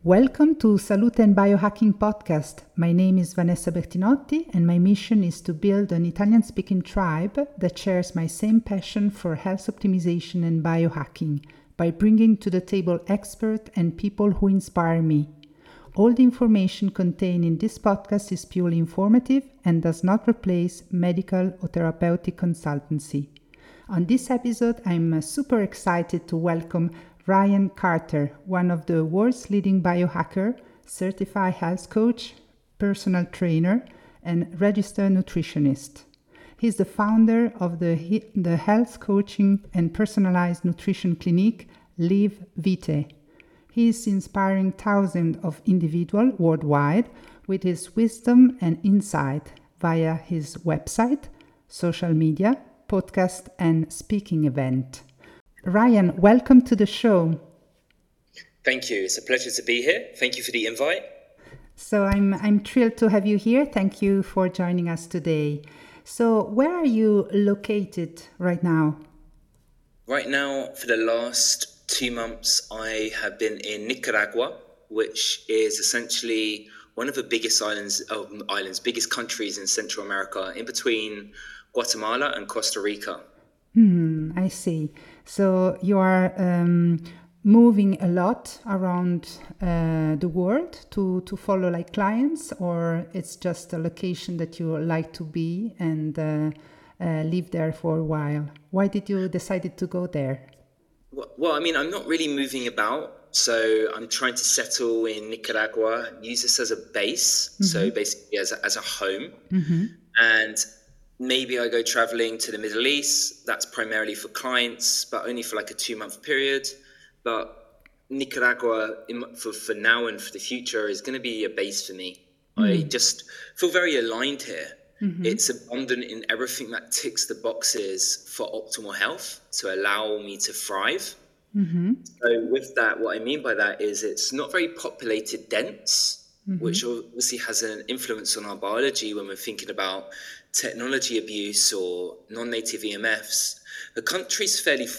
Welcome to Salute and Biohacking Podcast. My name is Vanessa Bertinotti, and my mission is to build an Italian-speaking tribe that shares my same passion for health optimization and biohacking by bringing to the table experts and people who inspire me. All the information contained in this podcast is purely informative and does not replace medical or therapeutic consultancy. On this episode, I'm super excited to welcome Ryan Carter, one of the world's leading biohacker, certified health coach, personal trainer, and registered nutritionist. He's the founder of the health coaching and personalized nutrition clinic, Live Vite. He is inspiring thousands of individuals worldwide with his wisdom and insight via his website, social media, podcast, and speaking event. Ryan, welcome to the show. Thank you. It's a pleasure to be here. Thank you for the invite. So I'm thrilled to have you here. Thank you for joining us today. So where are you located right now? Right now, for the last 2 months, I have been in Nicaragua, which is essentially one of the biggest biggest countries in Central America, in between Guatemala and Costa Rica. I see. So you are moving a lot around the world to follow like clients, or it's just a location that you like to be and live there for a while? Why did you decide to go there? Well, I mean, I'm not really moving about. So I'm trying to settle in Nicaragua, use this as a base. Mm-hmm. So basically as a home. Mm-hmm. And maybe I go traveling to the Middle East. That's primarily for clients, but only for like a 2-month period. But Nicaragua, for now and for the future, is going to be a base for me. I just feel very aligned here. Mm-hmm. It's abundant in everything that ticks the boxes for optimal health to allow me to thrive. Mm-hmm. So with that, what I mean by that is it's not very populated dense, which obviously has an influence on our biology when we're thinking about technology abuse or non-native EMFs. The country's fairly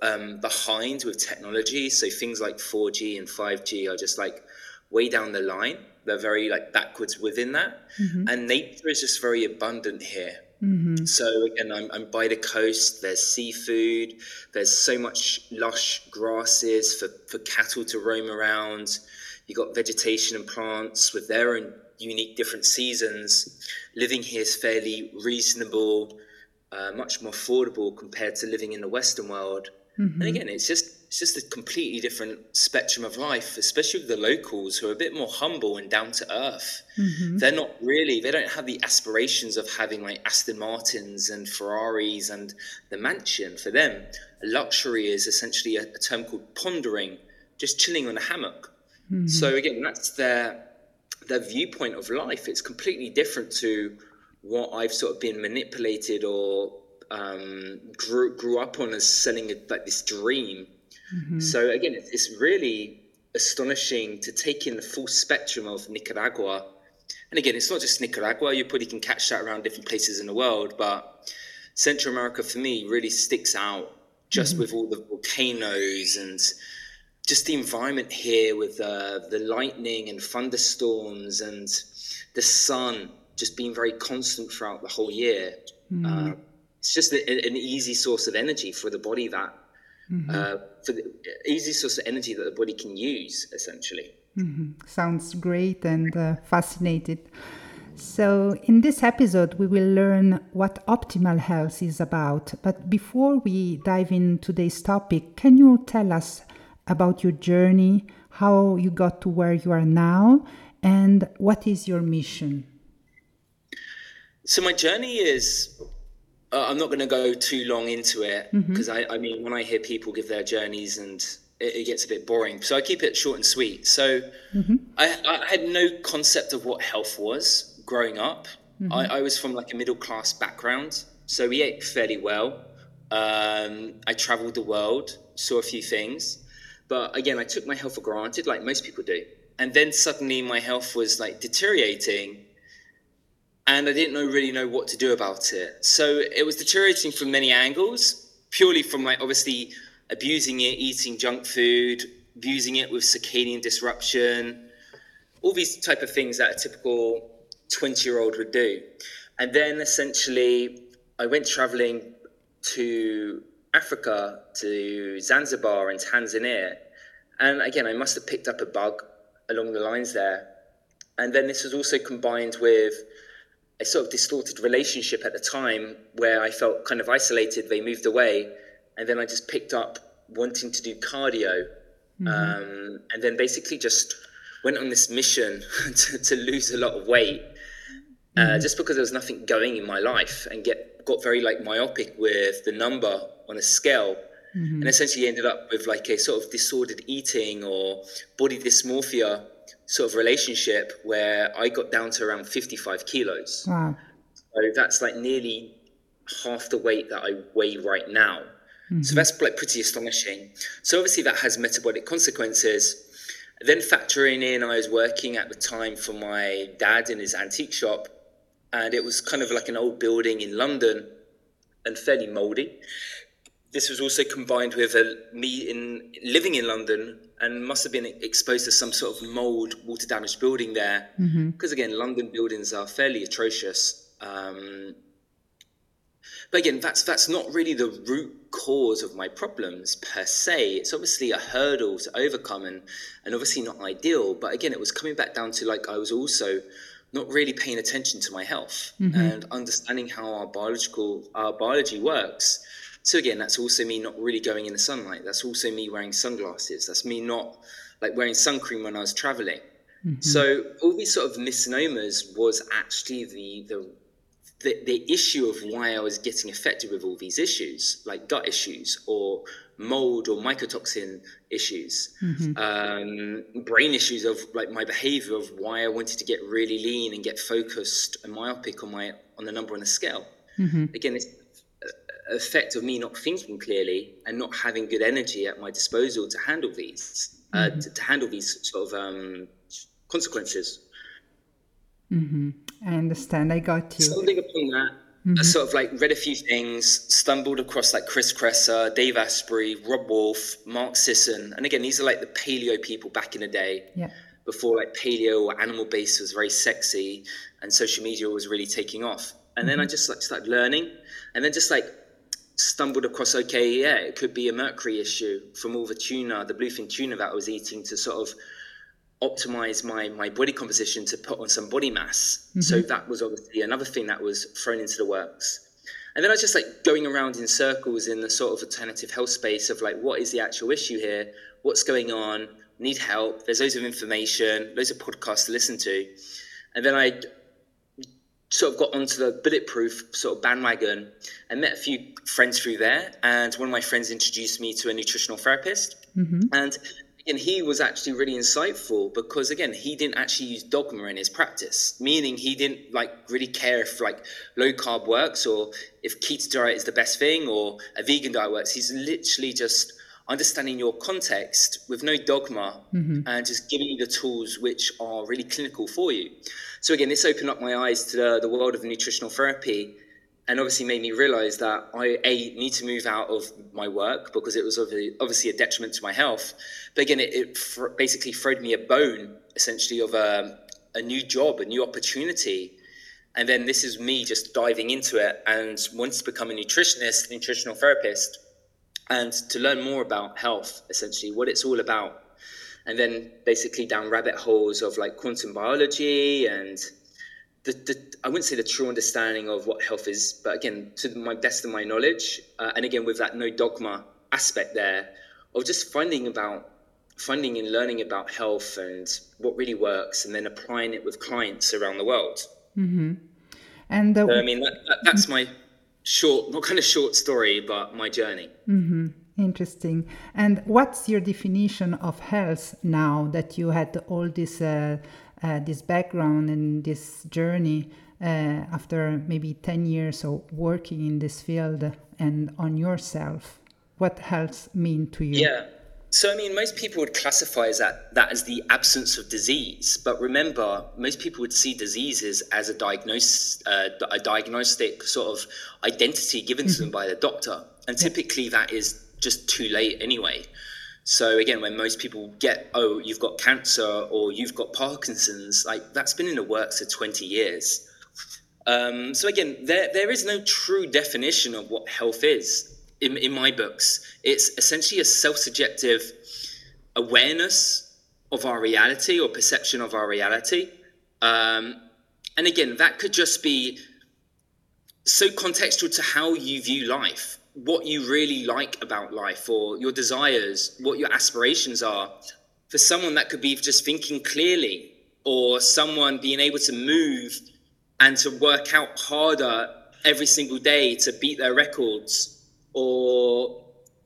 behind with technology, so things like 4G and 5G are just like way down the line. They're very like backwards within that, and nature is just very abundant here. So again, I'm by the coast. There's seafood. There's so much lush grasses for cattle to roam around. You got vegetation and plants with their own unique different seasons. Living here is fairly reasonable, much more affordable compared to living in the Western world. And again, it's just a completely different spectrum of life, especially with the locals who are a bit more humble and down to earth. They don't have the aspirations of having like Aston Martins and Ferraris and the mansion. For them, a luxury is essentially a term called pondering, just chilling on a hammock. So again, that's their viewpoint of life. It's completely different to what I've sort of been manipulated or grew up on as selling like this dream. So again, it's really astonishing to take in the full spectrum of Nicaragua. And again, it's not just Nicaragua. You probably can catch that around different places in the world, but Central America for me really sticks out just with all the volcanoes and just the environment here with the lightning and thunderstorms and the sun just being very constant throughout the whole year. It's just an easy source of energy for the body that the body can use, essentially. Sounds great and fascinating. So in this episode, we will learn what optimal health is about. But before we dive in today's topic, can you tell us about your journey, how you got to where you are now, and what is your mission? So my journey is, I'm not going to go too long into it because I mean, when I hear people give their journeys and it gets a bit boring. So I keep it short and sweet. So I had no concept of what health was growing up. I was from like a middle class background. So we ate fairly well. I traveled the world, saw a few things. But again, I took my health for granted, like most people do. And then suddenly my health was like deteriorating and I didn't really know what to do about it. So it was deteriorating from many angles, purely from like obviously abusing it, eating junk food, using it with circadian disruption, all these type of things that a typical 20-year-old would do. And then essentially I went traveling to Africa, to Zanzibar and Tanzania. And again, I must have picked up a bug along the lines there. And then this was also combined with a sort of distorted relationship at the time where I felt kind of isolated. They moved away. And then I just picked up wanting to do cardio. And then basically just went on this mission to lose a lot of weight, just because there was nothing going in my life, and got very like myopic with the number on a scale. And essentially ended up with like a sort of disordered eating or body dysmorphia sort of relationship where I got down to around 55 kilos. Wow. So that's like nearly half the weight that I weigh right now. So that's like pretty astonishing. So obviously that has metabolic consequences. Then factoring in, I was working at the time for my dad in his antique shop, and it was kind of like an old building in London and fairly moldy. This was also combined with me living in London and must have been exposed to some sort of mold, water damaged building there. Because again, London buildings are fairly atrocious. But again, that's not really the root cause of my problems per se. It's obviously a hurdle to overcome and obviously not ideal. But again, it was coming back down to like I was also not really paying attention to my health and understanding how our biology works. So again, that's also me not really going in the sunlight. That's also me wearing sunglasses. That's me not like wearing sun cream when I was traveling. So all these sort of misnomers was actually the issue of why I was getting affected with all these issues, like gut issues or mold or mycotoxin issues, brain issues of like my behavior of why I wanted to get really lean and get focused and myopic on the number on the scale. Again, it's effect of me not thinking clearly and not having good energy at my disposal to handle these, to handle these sort of consequences. I understand. I got you. Something upon that, I sort of like read a few things, stumbled across like Chris Kresser, Dave Asprey, Rob Wolf, Mark Sisson. And again, these are like the paleo people back in the day. Before like paleo or animal based was very sexy and social media was really taking off. And then I just like started learning and then just like stumbled across, it could be a mercury issue from all the tuna, the bluefin tuna that I was eating to sort of optimize my body composition to put on some body mass. So that was obviously another thing that was thrown into the works. And then I was just like going around in circles in the sort of alternative health space of like, what is the actual issue here? What's going on? Need help. There's loads of information, loads of podcasts to listen to. And then I sort of got onto the Bulletproof sort of bandwagon and met a few friends through there. And one of my friends introduced me to a nutritional therapist. And he was actually really insightful because, again, he didn't actually use dogma in his practice, meaning he didn't like really care if like low carb works or if keto diet is the best thing or a vegan diet works. He's literally just understanding your context with no dogma and just giving you the tools which are really clinical for you. So again, this opened up my eyes to the world of nutritional therapy and obviously made me realize that I need to move out of my work because it was obviously a detriment to my health. But again, it basically throwed me a bone, essentially, of a new job, a new opportunity. And then this is me just diving into it and wanted to become a nutritionist, nutritional therapist, and to learn more about health, essentially, what it's all about. And then basically down rabbit holes of like quantum biology and I wouldn't say the true understanding of what health is, but again, to my best of my knowledge, and again with that no dogma aspect there, of just finding and learning about health and what really works, and then applying it with clients around the world. And so, I mean, that's my not kind of short story, but my journey. Interesting. And what's your definition of health now that you had all this background and this journey after maybe 10 years of working in this field and on yourself? What health mean to you? Yeah. So, I mean, most people would classify that as the absence of disease. But remember, most people would see diseases as a diagnostic sort of identity given to them by the doctor. And typically that is just too late anyway. So again, when most people get, oh, you've got cancer or you've got Parkinson's, like that's been in the works for 20 years. So again, there is no true definition of what health is in my books. It's essentially a self-subjective awareness of our reality or perception of our reality. And again, that could just be so contextual to how you view life, what you really like about life, or your desires, what your aspirations are. For someone, that could be just thinking clearly, or someone being able to move and to work out harder every single day to beat their records. Or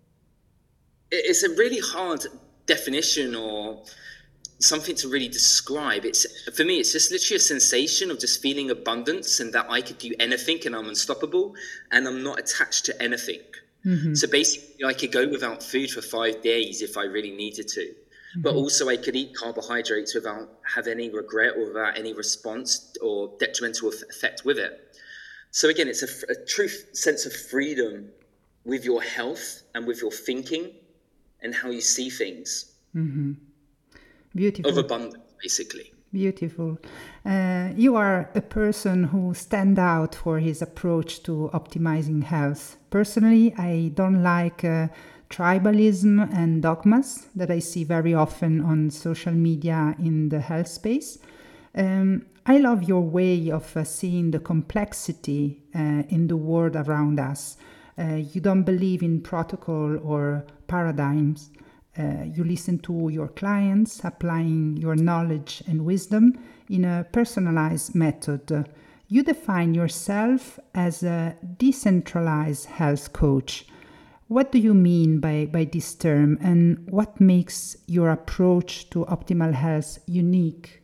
it's a really hard definition or something to really describe. It's, for me, it's just literally a sensation of just feeling abundance and that I could do anything and I'm unstoppable and I'm not attached to anything. So basically I could go without food for 5 days if I really needed to, but also I could eat carbohydrates without have any regret or without any response or detrimental effect with it. So again, it's a true sense of freedom with your health and with your thinking and how you see things. Beautiful. Of abundance, basically. Beautiful. You are a person who stands out for his approach to optimizing health. Personally, I don't like tribalism and dogmas that I see very often on social media in the health space. I love your way of seeing the complexity in the world around us. You don't believe in protocol or paradigms. You listen to your clients, applying your knowledge and wisdom in a personalized method. You define yourself as a decentralized health coach. What do you mean by this term, and what makes your approach to optimal health unique?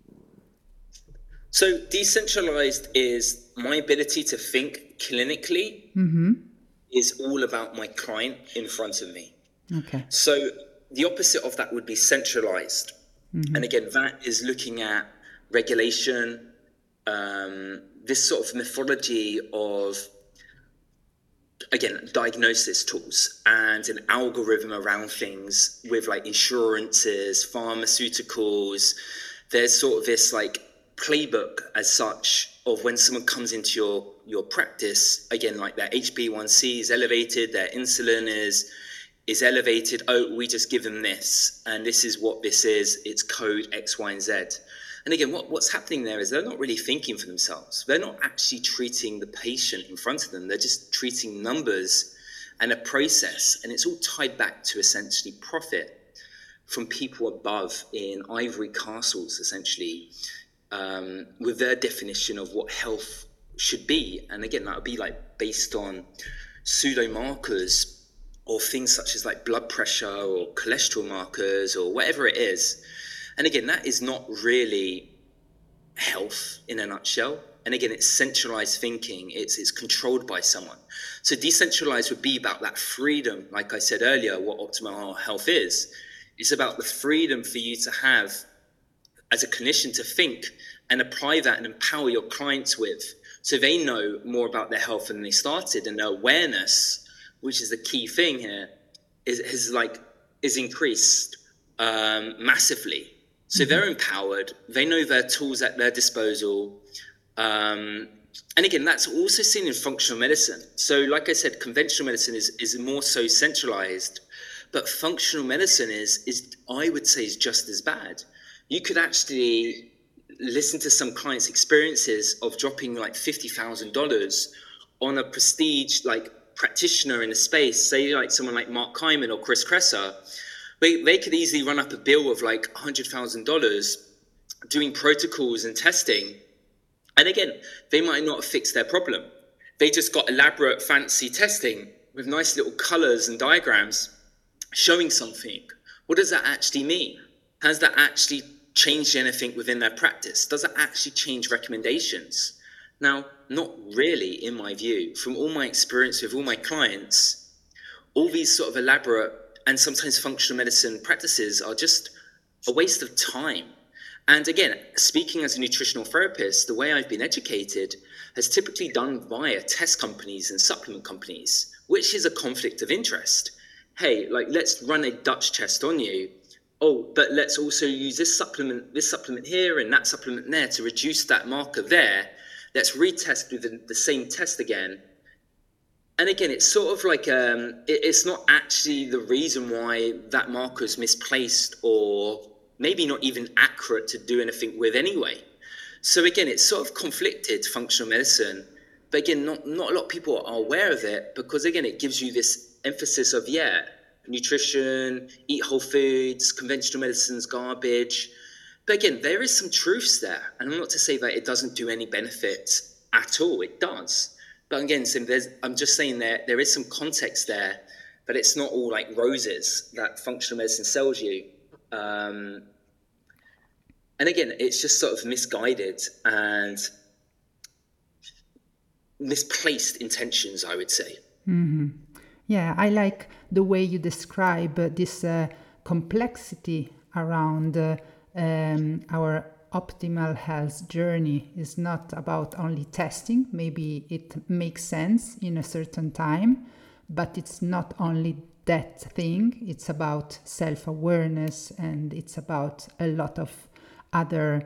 So decentralized is my ability to think clinically is all about my client in front of me. Okay. So the opposite of that would be centralized. And again, that is looking at regulation, this sort of methodology of, again, diagnosis tools and an algorithm around things with like insurances, pharmaceuticals. There's sort of this like playbook as such of when someone comes into your practice, again, like their HbA1c is elevated, their insulin is elevated. Oh, we just give them this, and this is what this is. It's code X, Y, and Z. And again, what's happening there is they're not really thinking for themselves. They're not actually treating the patient in front of them. They're just treating numbers and a process, and it's all tied back to essentially profit from people above in ivory castles, essentially, with their definition of what health should be. And again, that would be like based on pseudo markers or things such as like blood pressure or cholesterol markers or whatever it is. And again, that is not really health in a nutshell. And again, it's centralized thinking. It's controlled by someone. So decentralized would be about that freedom. Like I said earlier, what optimal health is. It's about the freedom for you to have as a clinician to think and apply that and empower your clients with, so they know more about their health than they started, and their awareness, which is the key thing here, is increased massively. So they're empowered. They know their tools at their disposal. And again, that's also seen in functional medicine. So like I said, conventional medicine is more so centralized, but functional medicine is I would say is just as bad. You could actually listen to some clients' experiences of dropping like $50,000 on a prestige like practitioner in a space, say like someone like Mark Hyman or Chris Kresser. They could easily run up a bill of like $100,000 doing protocols and testing. And again, they might not have fixed their problem. They just got elaborate, fancy testing with nice little colors and diagrams showing something. What does that actually mean? Has that actually changed anything within their practice? Does it actually change recommendations? Now, not really, in my view. From all my experience with all my clients, all these sort of elaborate and sometimes functional medicine practices are just a waste of time. And again, speaking as a nutritional therapist, the way I've been educated has typically done via test companies and supplement companies, which is a conflict of interest. hey, like, let's run a Dutch test on you. Oh, but let's also use this supplement here and that supplement there to reduce that marker there. Let's retest with the same test again. And again, it's sort of like it's not actually the reason why that marker is misplaced or maybe not even accurate to do anything with anyway. So again, it's sort of conflicted, functional medicine. But again, not a lot of people are aware of it because, again, it gives you this emphasis of, nutrition, eat whole foods, conventional medicine's garbage. But again, there is some truths there. And I'm not to say that it doesn't do any benefits at all. It does. But again, I'm just saying there is some context there, but it's not all like roses that functional medicine sells you. And again, it's just sort of misguided and misplaced intentions, I would say. Mm-hmm. Yeah, I like the way you describe this complexity around our optimal health journey. Is not about only testing. Maybe it makes sense in a certain time, but it's not only that thing. It's about self-awareness, and it's about a lot of other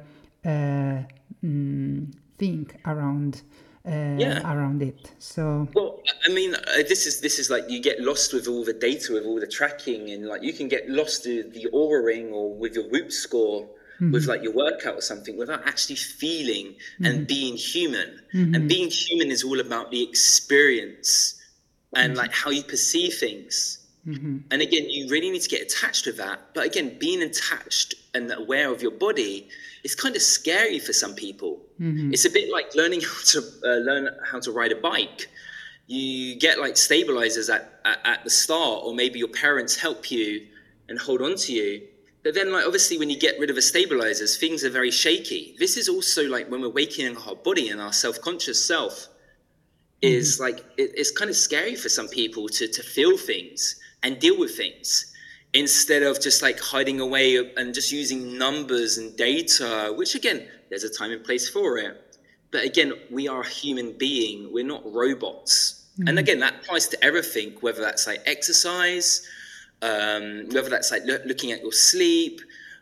thing around it. So, well, I mean, this is like, you get lost with all the data, with all the tracking, and like you can get lost with the Oura ring or with your Whoop score, with like your workout or something, without actually feeling and being human. And being human is all about the experience and like how you perceive things. And again, you really need to get attached with that. But again, being attached and aware of your body is kind of scary for some people. It's a bit like learning how to ride a bike. You get like stabilizers at the start, or maybe your parents help you and hold on to you. But then, like, obviously, when you get rid of the stabilizers, things are very shaky. This is also like when we're waking up our body, and our self-conscious self is like, it's kind of scary for some people to feel things and deal with things, instead of just like hiding away and just using numbers and data, which again, there's a time and place for it. But again, we are a human being. We're not robots. And again, that applies to everything, whether that's like exercise, whether that's like looking at your sleep,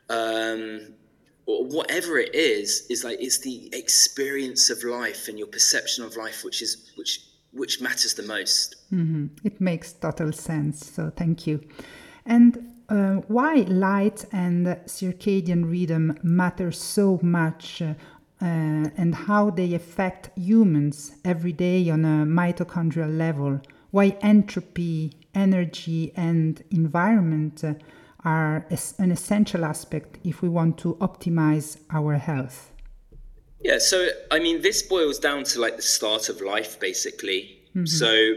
or whatever it is like, it's the experience of life and your perception of life which matters the most. It makes total sense. So thank you. And why light and circadian rhythm matter so much, and how they affect humans every day on a mitochondrial level? Why entropy, energy, and environment are an essential aspect if we want to optimize our health? Yeah, so I mean, this boils down to like the start of life, basically. So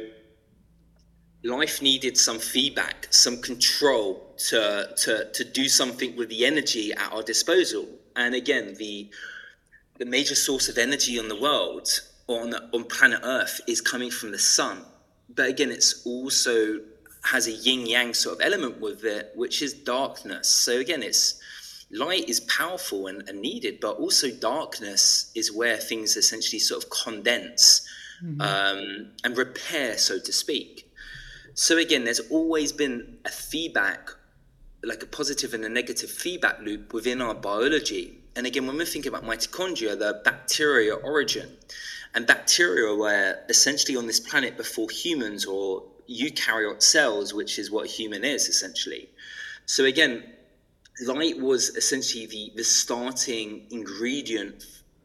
life needed some feedback, some control to do something with the energy at our disposal. And again, the major source of energy on the world, on planet Earth, is coming from the sun. But again, it's also has a yin-yang sort of element with it, which is darkness. So again, it's light is powerful and needed, but also darkness is where things essentially sort of condense and repair, so to speak. So again, there's always been a feedback, like a positive and a negative feedback loop within our biology. And again, when we think about mitochondria, the bacteria origin, and bacteria were essentially on this planet before humans, or eukaryote cells, which is what a human is essentially. So again, light was essentially the starting ingredient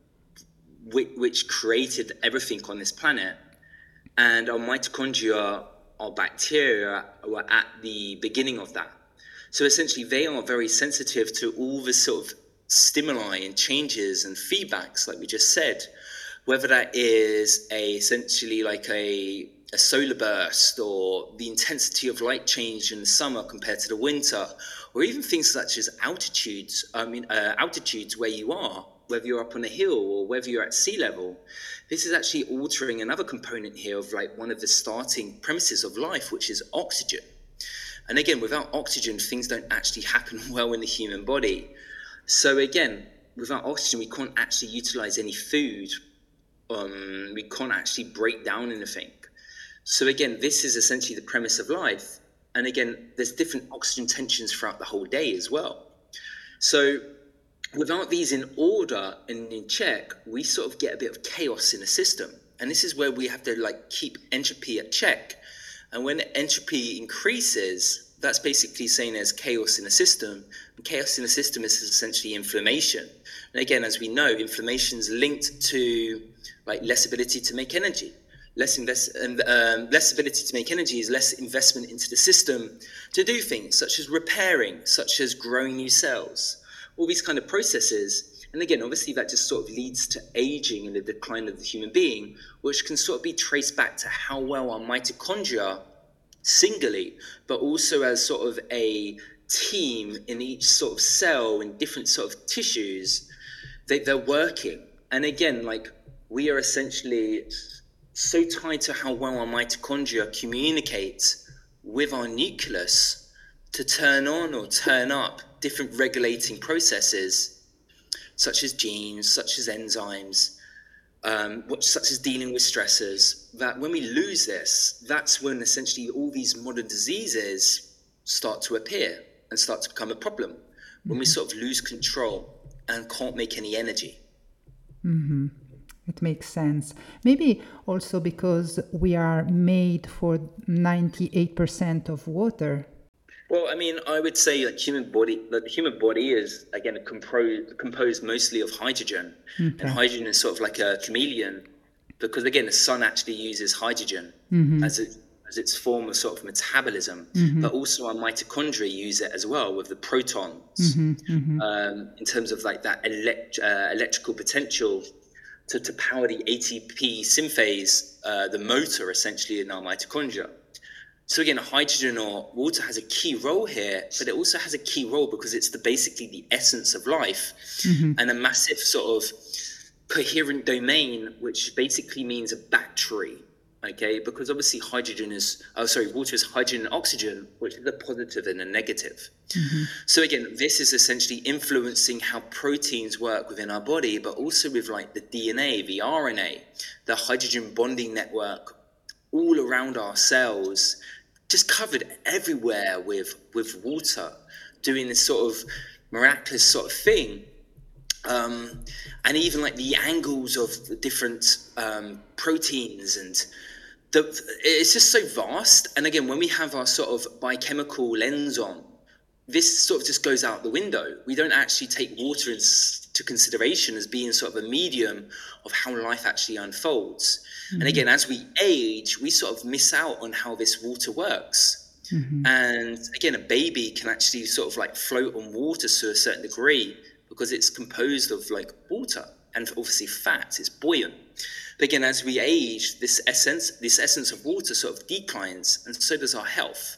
which created everything on this planet. And our mitochondria, our bacteria, were at the beginning of that. So essentially, they are very sensitive to all the sort of stimuli and changes and feedbacks, like we just said, whether that is essentially like a solar burst, or the intensity of light change in the summer compared to the winter, or even things such as altitudes where you are, whether you're up on a hill or whether you're at sea level. This is actually altering another component here of like one of the starting premises of life, which is oxygen. And again, without oxygen, things don't actually happen well in the human body. So again, without oxygen, we can't actually utilize any food. We can't actually break down anything. So again, this is essentially the premise of life. And again, there's different oxygen tensions throughout the whole day as well. So without these in order and in check, we sort of get a bit of chaos in the system. And this is where we have to like keep entropy at check. And when entropy increases, that's basically saying there's chaos in the system. And chaos in the system is essentially inflammation. And again, as we know, inflammation is linked to like less ability to make energy. Less ability to make energy is less investment into the system to do things such as repairing, such as growing new cells, all these kind of processes. And again, obviously that just sort of leads to aging and the decline of the human being, which can sort of be traced back to how well our mitochondria singly, but also as sort of a team in each sort of cell in different sort of tissues, they're working. And again, like we are essentially so tied to how well our mitochondria communicate with our nucleus to turn on or turn up different regulating processes, such as genes, such as enzymes, such as dealing with stressors, that when we lose this, that's when essentially all these modern diseases start to appear and start to become a problem, when we sort of lose control and can't make any energy. Mm-hmm. It makes sense. Maybe also because we are made for 98% of water. Well, I mean, I would say that the human body is, again, composed mostly of hydrogen. Okay. And hydrogen is sort of like a chameleon because, again, the sun actually uses hydrogen as its form of sort of metabolism. But also our mitochondria use it as well with the protons in terms of like that electrical potential to power the ATP synthase, the motor essentially in our mitochondria. So again, hydrogen or water has a key role here, but it also has a key role because it's basically the essence of life and a massive sort of coherent domain, which basically means a battery, okay? Because obviously water is hydrogen and oxygen, which is a positive and a negative. So again, this is essentially influencing how proteins work within our body, but also with like the DNA, the RNA, the hydrogen bonding network, all around our cells, just covered everywhere with water, doing this sort of miraculous sort of thing. And even like the angles of the different proteins and it's just so vast. And again, when we have our sort of biochemical lens on, this sort of just goes out the window. We don't actually take water into consideration as being sort of a medium of how life actually unfolds. And again, as we age, we sort of miss out on how this water works. And again, a baby can actually sort of like float on water to a certain degree because it's composed of like water and obviously fat, it's buoyant. But again, as we age, this essence of water sort of declines, and so does our health.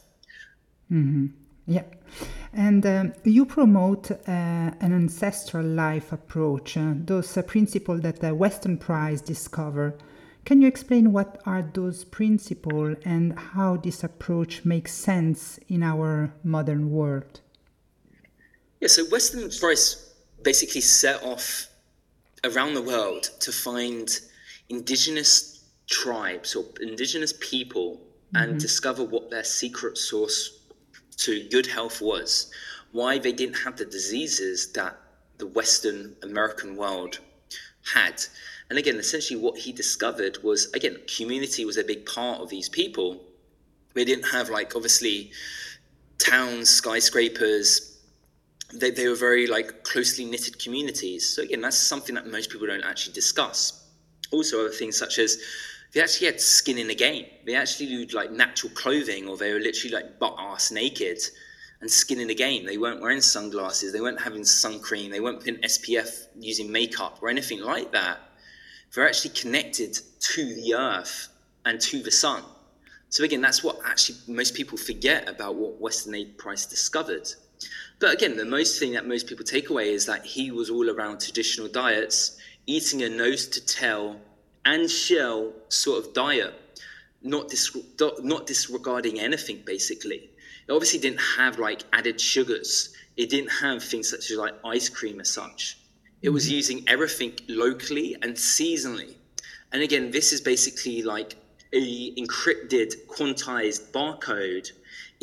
Yeah. And you promote an ancestral life approach, those principles that the Western Prize discover. Can you explain what are those principles and how this approach makes sense in our modern world? Yeah, so Western Prize basically set off around the world to find indigenous tribes or indigenous people and discover what their secret source to good health was, why they didn't have the diseases that the Western American world had. And again, essentially what he discovered was, again, community was a big part of these people. They didn't have like, obviously, towns, skyscrapers. They were very like closely knitted communities. So again, that's something that most people don't actually discuss. Also other things such as they actually had skin in the game. They actually used like natural clothing, or they were literally like butt-ass naked and skin in the game. They weren't wearing sunglasses. They weren't having sun cream. They weren't putting SPF using makeup or anything like that. They're actually connected to the earth and to the sun. So again, that's what actually most people forget about what Western Price discovered. But again, the most thing that most people take away is that he was all around traditional diets, eating a nose to tail and shell sort of diet, not disregarding anything basically. It obviously didn't have like added sugars. It didn't have things such as like ice cream as such. It was using everything locally and seasonally. And again, this is basically like a encrypted, quantized barcode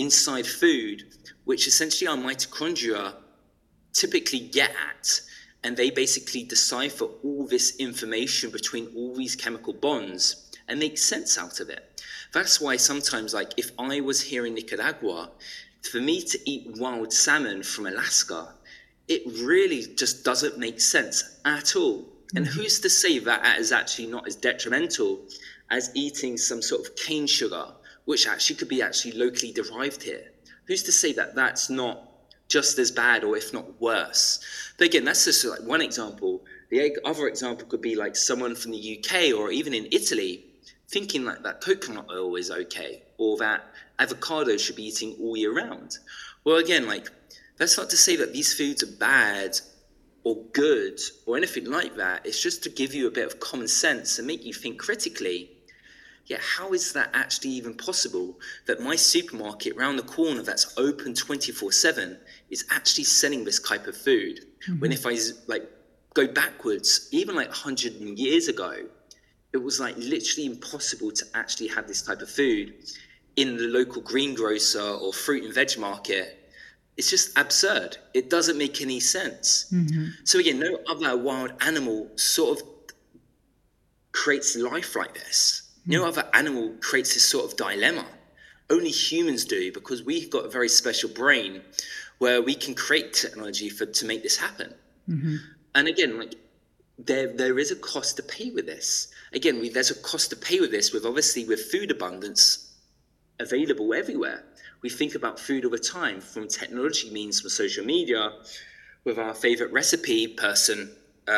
inside food, which essentially our mitochondria typically get at, and they basically decipher all this information between all these chemical bonds and make sense out of it. That's why sometimes, like if I was here in Nicaragua, for me to eat wild salmon from Alaska, it really just doesn't make sense at all. And who's to say that is actually not as detrimental as eating some sort of cane sugar, which actually could be actually locally derived here? Who's to say that that's not just as bad, or if not worse? But again, that's just like one example. The other example could be like someone from the UK or even in Italy thinking like that coconut oil is okay, or that avocado should be eating all year round. Well, again, like that's not to say that these foods are bad or good or anything like that. It's just to give you a bit of common sense and make you think critically. Yeah, how is that actually even possible that my supermarket round the corner that's open 24/7 is actually selling this type of food? When if I like go backwards, even like 100 years ago, it was like literally impossible to actually have this type of food in the local greengrocer or fruit and veg market. It's just absurd. It doesn't make any sense. So again, no other wild animal sort of creates life like this. No other animal creates this sort of dilemma. Only humans do, because we've got a very special brain where we can create technology to make this happen. And again, like there is a cost to pay with this. Again, there's a cost to pay with this, with obviously with food abundance available everywhere. We think about food all the time, from technology means, from social media, with our favorite recipe person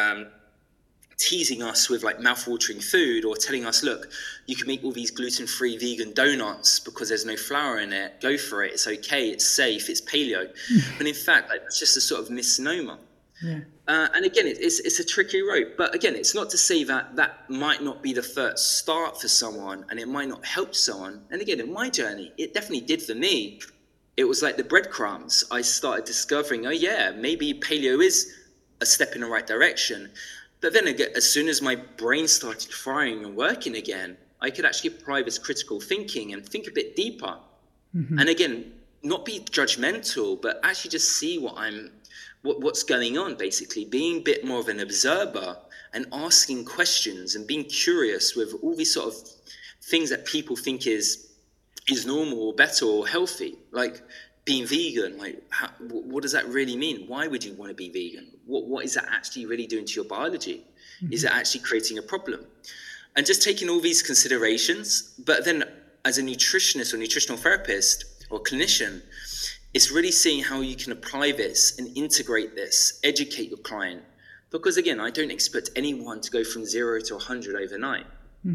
teasing us with like mouth-watering food, or telling us, look, you can make all these gluten-free vegan donuts because there's no flour in it. Go for it. It's okay. It's safe. It's paleo. But in fact, like, that's just a sort of misnomer. And again, it's a tricky road. But again, it's not to say that that might not be the first start for someone, and it might not help someone. And again, in my journey, it definitely did for me. It was like the breadcrumbs. I started discovering, oh yeah, maybe paleo is a step in the right direction. But then again, as soon as my brain started firing and working again, I could actually apply this critical thinking and think a bit deeper. And again, not be judgmental, but actually just see what's going on, basically. Being a bit more of an observer and asking questions and being curious with all these sort of things that people think is normal or better or healthy, like being vegan. Like, what does that really mean? Why would you want to be vegan? What is that actually really doing to your biology? Is it actually creating a problem? And just taking all these considerations, but then as a nutritionist or nutritional therapist or clinician, it's really seeing how you can apply this and integrate this, educate your client. Because again, I don't expect anyone to go from 0 to 100 overnight.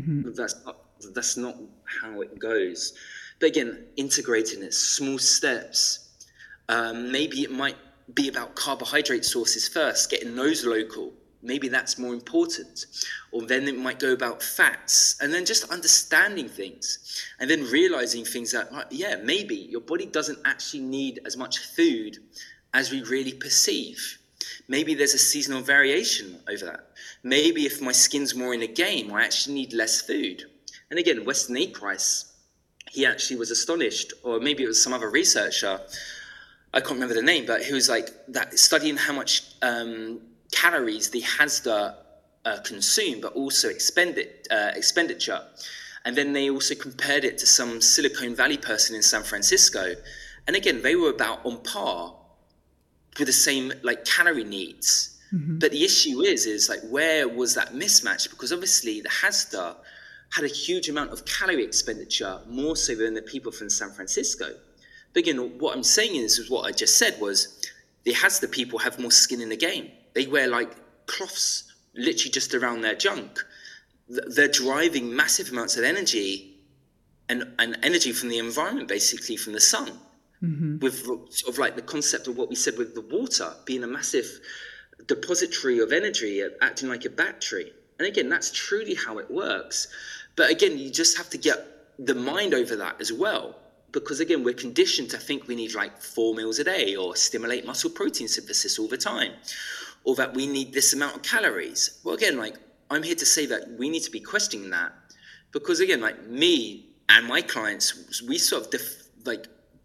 That's not how it goes. But again, integrating it, small steps. Maybe it might be about carbohydrate sources first, getting those local. Maybe that's more important. Or then it might go about fats, and then just understanding things, and then realizing things that, yeah, maybe your body doesn't actually need as much food as we really perceive. Maybe there's a seasonal variation over that. Maybe if my skin's more in a game, I actually need less food. And again, Weston A. Price, he actually was astonished, or maybe it was some other researcher, I can't remember the name, but he was like that, studying how much calories the Hasda consume, but also expenditure. And then they also compared it to some Silicon Valley person in San Francisco. And again, they were about on par with the same like calorie needs. But the issue is like, where was that mismatch? Because obviously the Hasda had a huge amount of calorie expenditure, more so than the people from San Francisco. But again, what I'm saying is what I just said was, the Hasda people have more skin in the game. They wear like cloths literally just around their junk. They're driving massive amounts of energy and energy from the environment, basically from the sun, with sort of like the concept of what we said with the water being a massive depository of energy, acting like a battery. And again, that's truly how it works. But again, you just have to get the mind over that as well. Because again, we're conditioned to think we need like 4 meals a day, or stimulate muscle protein synthesis all the time, or that we need this amount of calories. Well, again, like, I'm here to say that we need to be questioning that. Because again, like me and my clients, we sort of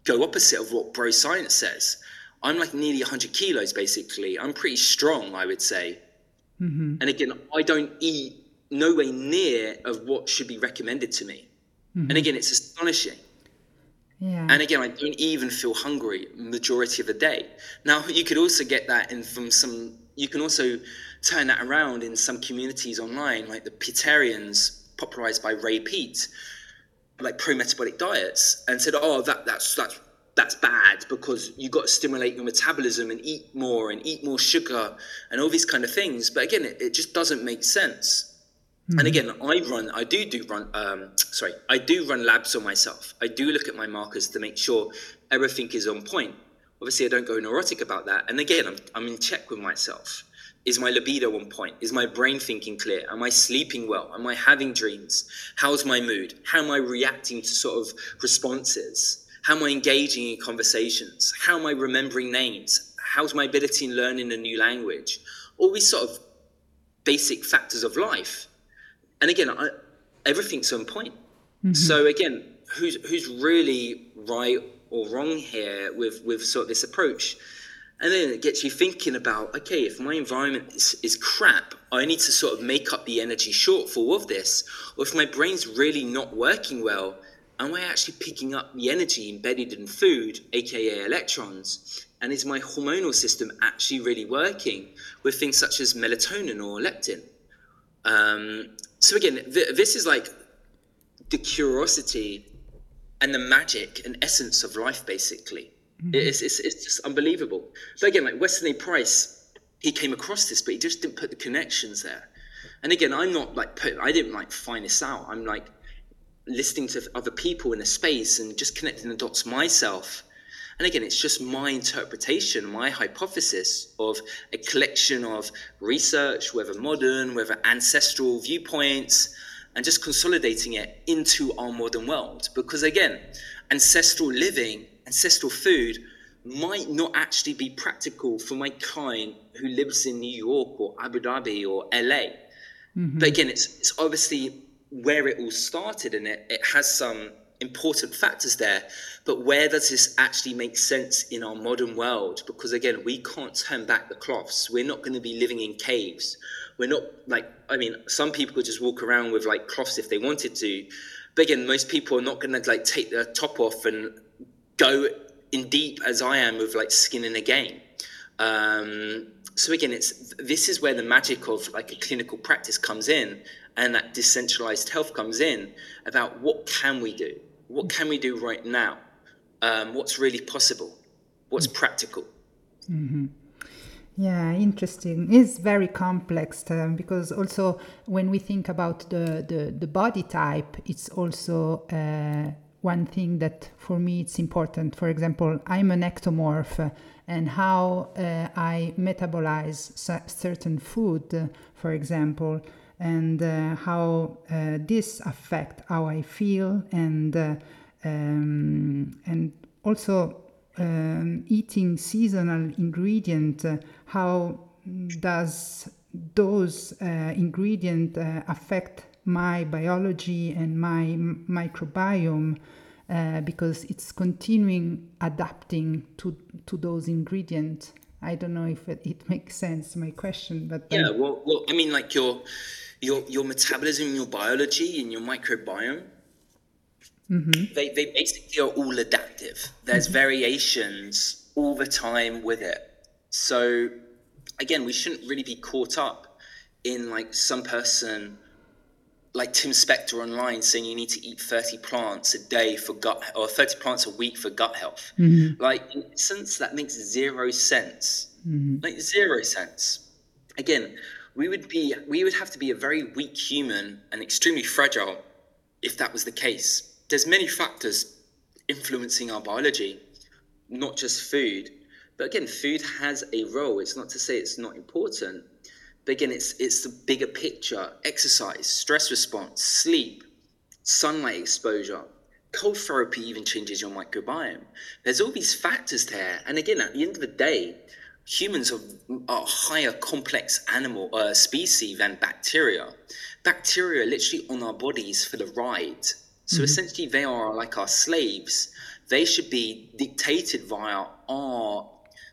go opposite of what bro science says. I'm like nearly 100 kilos, basically. I'm pretty strong, I would say. And again, I don't eat nowhere near of what should be recommended to me. And again, it's astonishing. Yeah. And again, I don't even feel hungry majority of the day. Now, you could also get that you can also turn that around in some communities online, like the Petarians, popularized by Ray Peat, like pro-metabolic diets, and said, oh, that's bad because you got to stimulate your metabolism and eat more sugar and all these kind of things. But again, it just doesn't make sense. And again, I do run labs on myself. I do look at my markers to make sure everything is on point. Obviously, I don't go neurotic about that. And again, I'm in check with myself. Is my libido on point? Is my brain thinking clear? Am I sleeping well? Am I having dreams? How's my mood? How am I reacting to sort of responses? How am I engaging in conversations? How am I remembering names? How's my ability in learning a new language? All these sort of basic factors of life. And again, everything's on point. So again, who's really right or wrong here with sort of this approach? And then it gets you thinking about, okay, if my environment is crap, I need to sort of make up the energy shortfall of this. Or if my brain's really not working well, am I actually picking up the energy embedded in food, aka electrons? And is my hormonal system actually really working with things such as melatonin or leptin? So again, this is like the curiosity and the magic and essence of life, basically. It's just unbelievable. But again, like Weston A. Price, he came across this, but he just didn't put the connections there. And again, I didn't like find this out. I'm like listening to other people in a space and just connecting the dots myself. And again, it's just my interpretation, my hypothesis of a collection of research, whether modern, whether ancestral viewpoints, and just consolidating it into our modern world. Because again, ancestral living, ancestral food might not actually be practical for my client who lives in New York or Abu Dhabi or LA. But again, it's obviously where it all started, and it has some important factors there. But where does this actually make sense in our modern world? Because again, we can't turn back the cloths. We're not going to be living in caves. We're not some people could just walk around with like cloths if they wanted to. But again, most people are not going to like take their top off and go in deep as I am with like skin in a game. So again, this is where the magic of like a clinical practice comes in, and that decentralized health comes in about what can we do? What can we do right now? What's really possible? What's practical? Yeah, interesting. It's very complex because also when we think about the body type, it's also one thing that for me it's important. For example, I'm an ectomorph, and how I metabolize certain food, for example, and how this affect how I feel, and also eating seasonal ingredient, how does those ingredient affect my biology and my microbiome, because it's continuing adapting to those ingredients. I don't know if it makes sense, my question, but yeah, well, I mean, like your metabolism, your biology, and your microbiome, they basically are all adaptive. There's variations all the time with it. So again, we shouldn't really be caught up in like some person like Tim Spector online saying you need to eat 30 plants a day for gut, or 30 plants a week for gut health. Like, in essence, that makes zero sense. Like, 0 cents. Again, we would have to be a very weak human and extremely fragile if that was the case. There's many factors influencing our biology, not just food. But again, food has a role. It's not to say it's not important. But again, it's the bigger picture: exercise, stress response, sleep, sunlight exposure. Cold therapy even changes your microbiome. There's all these factors there. And again, at the end of the day, humans are a higher complex animal species than bacteria. Bacteria are literally on our bodies for the ride. So essentially, they are like our slaves. They should be dictated via our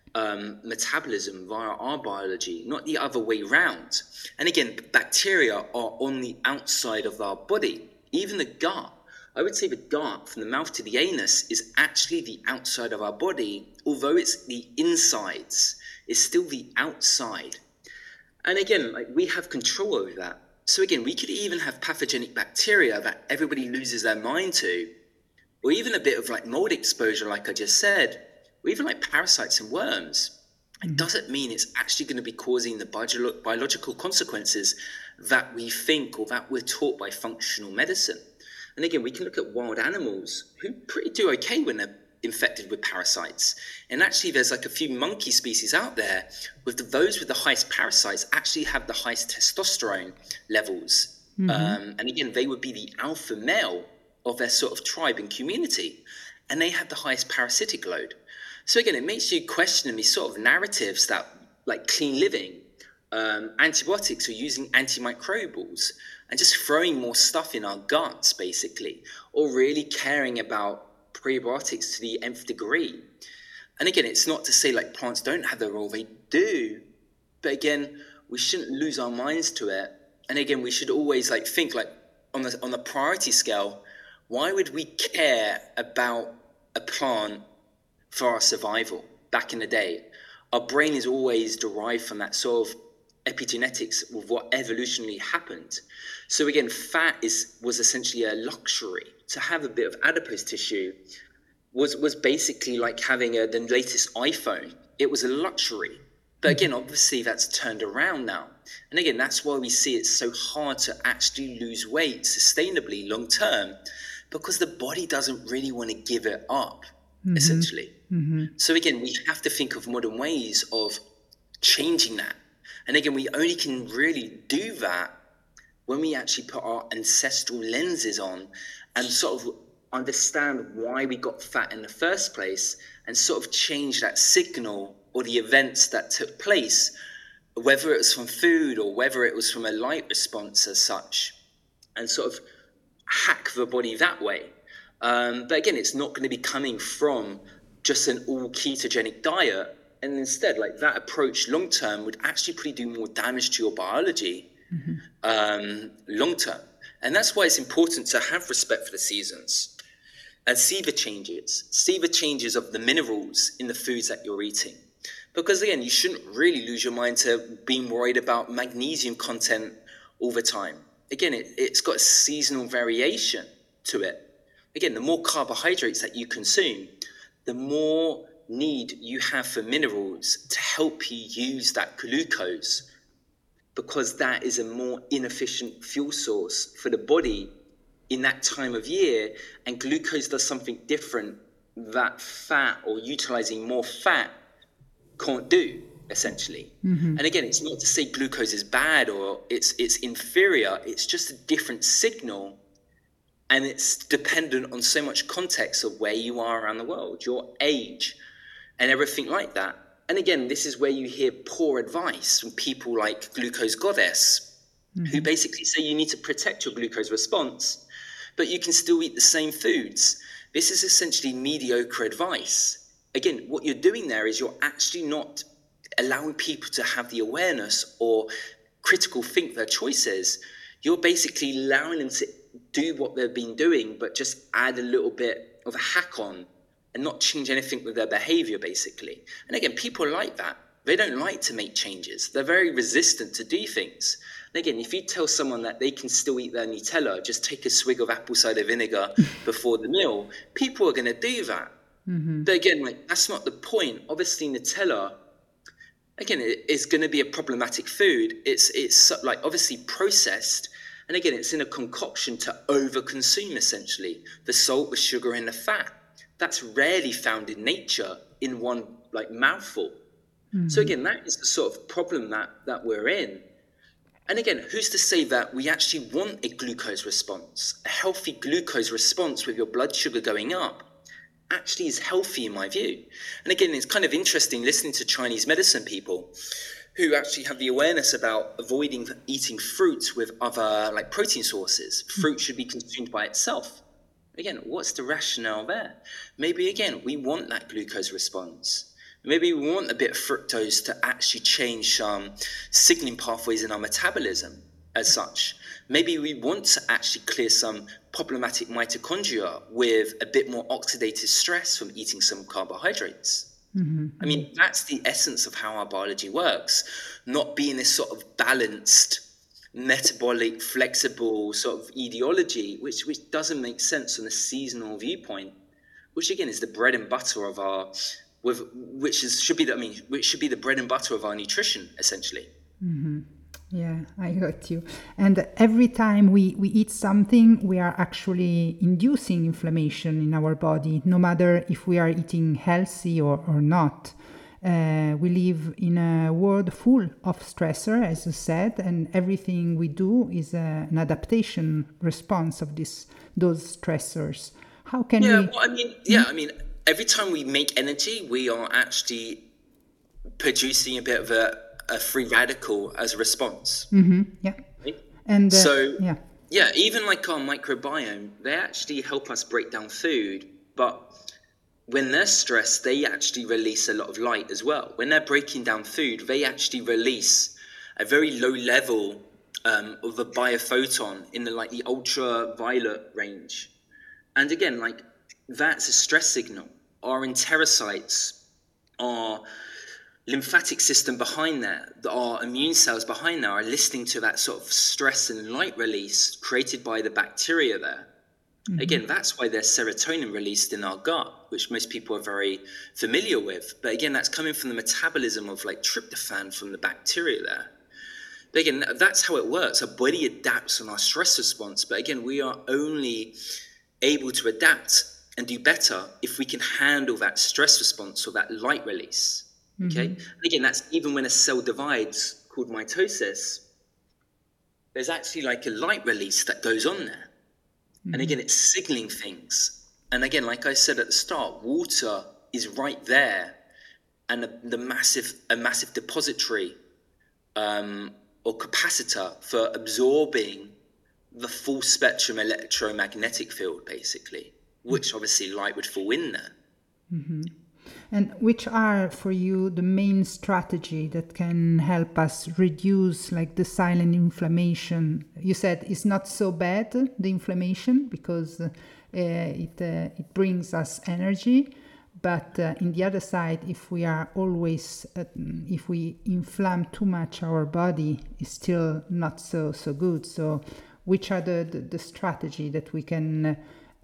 metabolism, via our biology, not the other way round. And again, bacteria are on the outside of our body. Even the gut, I would say the gut from the mouth to the anus is actually the outside of our body, although it's the insides, it's still the outside. And again, like, we have control over that. So again, we could even have pathogenic bacteria that everybody loses their mind to, or even a bit of like mold exposure, like I just said, or even like parasites and worms. It doesn't mean it's actually going to be causing the biological consequences that we think or that we're taught by functional medicine. And again, we can look at wild animals who pretty do okay when they're infected with parasites. And actually, there's like a few monkey species out there with those with the highest parasites actually have the highest testosterone levels. And again, they would be the alpha male of their sort of tribe and community, and they have the highest parasitic load. So again, it makes you question these sort of narratives that like clean living, antibiotics, or using antimicrobials and just throwing more stuff in our guts basically, or really caring about prebiotics to the nth degree. And again, it's not to say like plants don't have their role, they do, but again, we shouldn't lose our minds to it. And again, we should always like think like on the priority scale, why would we care about a plant for our survival? Back in the day, our brain is always derived from that sort of epigenetics of what evolutionarily happened. So again, fat was essentially a luxury. To have a bit of adipose tissue was basically like having the latest iPhone. It was a luxury. But again, obviously that's turned around now. And again, that's why we see it's so hard to actually lose weight sustainably long term, because the body doesn't really want to give it up, essentially. So again, we have to think of modern ways of changing that. And again, we only can really do that when we actually put our ancestral lenses on and sort of understand why we got fat in the first place, and sort of change that signal or the events that took place, whether it was from food or whether it was from a light response as such, and sort of hack the body that way. But again, it's not going to be coming from just an all ketogenic diet. And instead, like, that approach long term would actually probably do more damage to your biology long term. And that's why it's important to have respect for the seasons and see the changes of the minerals in the foods that you're eating. Because again, you shouldn't really lose your mind to being worried about magnesium content all the time. Again, it's got a seasonal variation to it. Again, the more carbohydrates that you consume, the more need you have for minerals to help you use that glucose, because that is a more inefficient fuel source for the body in that time of year. And glucose does something different that fat, or utilizing more fat, can't do, essentially. And again, it's not to say glucose is bad or it's inferior. It's just a different signal, and it's dependent on so much context of where you are around the world, your age, and everything like that. And again, this is where you hear poor advice from people like Glucose Goddess, who basically say you need to protect your glucose response, but you can still eat the same foods. This is essentially mediocre advice. Again, what you're doing there is you're actually not allowing people to have the awareness or critical think their choices. You're basically allowing them to do what they've been doing, but just add a little bit of a hack on and not change anything with their behavior, basically. And again, people are like that. They don't like to make changes. They're very resistant to do things. And again, if you tell someone that they can still eat their Nutella, just take a swig of apple cider vinegar before the meal, people are going to do that. But again, like, that's not the point. Obviously, Nutella, again, it is going to be a problematic food. It's like obviously processed. And again, it's in a concoction to overconsume, essentially. The salt, the sugar, and the fat. That's rarely found in nature in one like mouthful. So again, that is the sort of problem that we're in. And again, who's to say that we actually want a glucose response? A healthy glucose response with your blood sugar going up actually is healthy in my view. And again, it's kind of interesting listening to Chinese medicine people who actually have the awareness about avoiding eating fruits with other like protein sources. Fruit should be consumed by itself. Again, what's the rationale there? Maybe, again, we want that glucose response. Maybe we want a bit of fructose to actually change some signaling pathways in our metabolism as such. Maybe we want to actually clear some problematic mitochondria with a bit more oxidative stress from eating some carbohydrates. I mean, that's the essence of how our biology works, not being this sort of balanced, metabolic, flexible sort of ideology, which doesn't make sense from a seasonal viewpoint, which again is the bread and butter of our, which should be the bread and butter of our nutrition, essentially. Yeah, I got you. And every time we eat something, we are actually inducing inflammation in our body, no matter if we are eating healthy or not. We live in a world full of stressor, as you said, and everything we do is an adaptation response of those stressors. How can we? Well, I mean, every time we make energy, we are actually producing a bit of a free radical as a response. Yeah. Right? And even like our microbiome, they actually help us break down food, but when they're stressed, they actually release a lot of light as well. When they're breaking down food, they actually release a very low level of a biophoton in the ultraviolet range. And again, like that's a stress signal. Our enterocytes, our lymphatic system behind there, our immune cells behind there are listening to that sort of stress and light release created by the bacteria there. Again, that's why there's serotonin released in our gut, which most people are very familiar with. But again, that's coming from the metabolism of like tryptophan from the bacteria there. But again, that's how it works. Our body adapts on our stress response. But again, we are only able to adapt and do better if we can handle that stress response or that light release. Okay. And again, that's even when a cell divides called mitosis, there's actually like a light release that goes on there. And again, it's signaling things. And again, like I said at the start, water is right there, and a massive depository or capacitor for absorbing the full spectrum electromagnetic field, basically, which obviously light would fall in there. And which are for you the main strategy that can help us reduce like the silent inflammation? You said it's not so bad, the inflammation, because it brings us energy. But in the other side, if we are always, if we inflame too much our body, it's still not so good. So which are the strategy that we can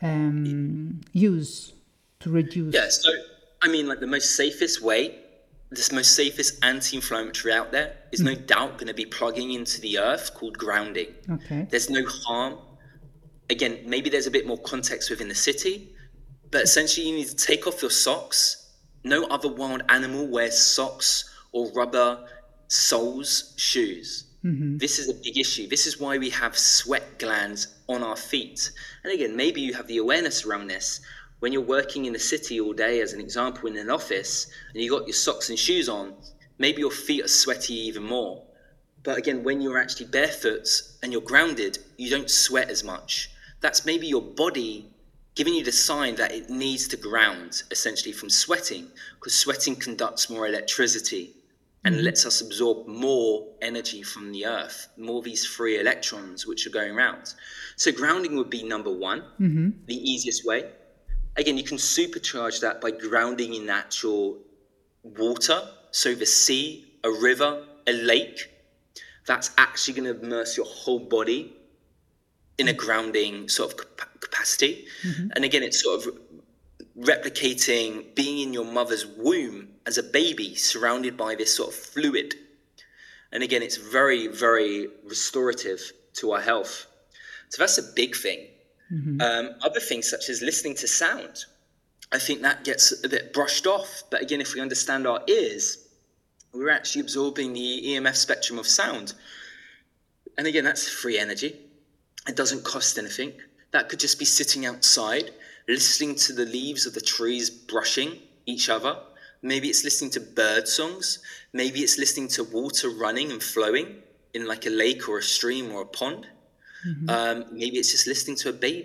use to reduce? Yeah, so I mean, like the most safest anti-inflammatory out there is no doubt going to be plugging into the earth, called grounding. Okay. There's no harm. Again, maybe there's a bit more context within the city, but essentially you need to take off your socks. No other wild animal wears socks or rubber soles shoes. This is a big issue. This is why we have sweat glands on our feet. And again, maybe you have the awareness around this. When you're working in the city all day, as an example, in an office, and you got your socks and shoes on, maybe your feet are sweaty even more. But again, when you're actually barefoot and you're grounded, you don't sweat as much. That's maybe your body giving you the sign that it needs to ground, essentially, from sweating, because sweating conducts more electricity and lets us absorb more energy from the earth, more of these free electrons which are going around. So grounding would be number one, the easiest way. Again, you can supercharge that by grounding in natural water. So the sea, a river, a lake, that's actually going to immerse your whole body in a grounding sort of capacity. And again, it's sort of replicating being in your mother's womb as a baby, surrounded by this sort of fluid. And again, it's very, very restorative to our health. So that's a big thing. Other things such as listening to sound, I think that gets a bit brushed off. But again, if we understand our ears, we're actually absorbing the EMF spectrum of sound. And again, that's free energy. It doesn't cost anything. That could just be sitting outside, listening to the leaves of the trees brushing each other. Maybe it's listening to bird songs. Maybe it's listening to water running and flowing in like a lake or a stream or a pond. Maybe it's just listening to a baby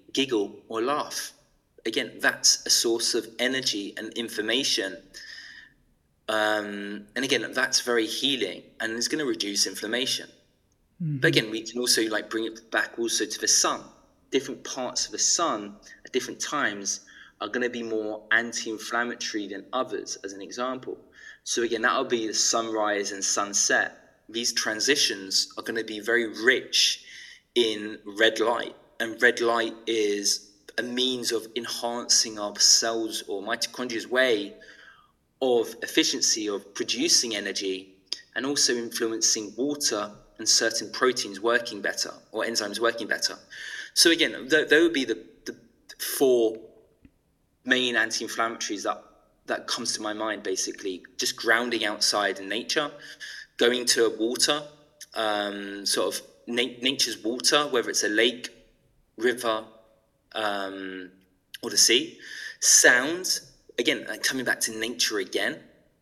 giggle, or laugh. Again, that's a source of energy and information. And again, that's very healing, and it's going to reduce inflammation. But again, we can also like bring it back also to the sun. Different parts of the sun at different times are going to be more anti-inflammatory than others, as an example. So again, that'll be the sunrise and sunset. These transitions are going to be very rich in red light, and red light is a means of enhancing our cells or mitochondria's way of efficiency of producing energy, and also influencing water and certain proteins working better or enzymes working better. So again, there would be the 4 main anti-inflammatories that comes to my mind. Basically, just grounding outside in nature, going to water, sort of nature's water, whether it's a lake, river, or the sea. Sound, again, like coming back to nature again.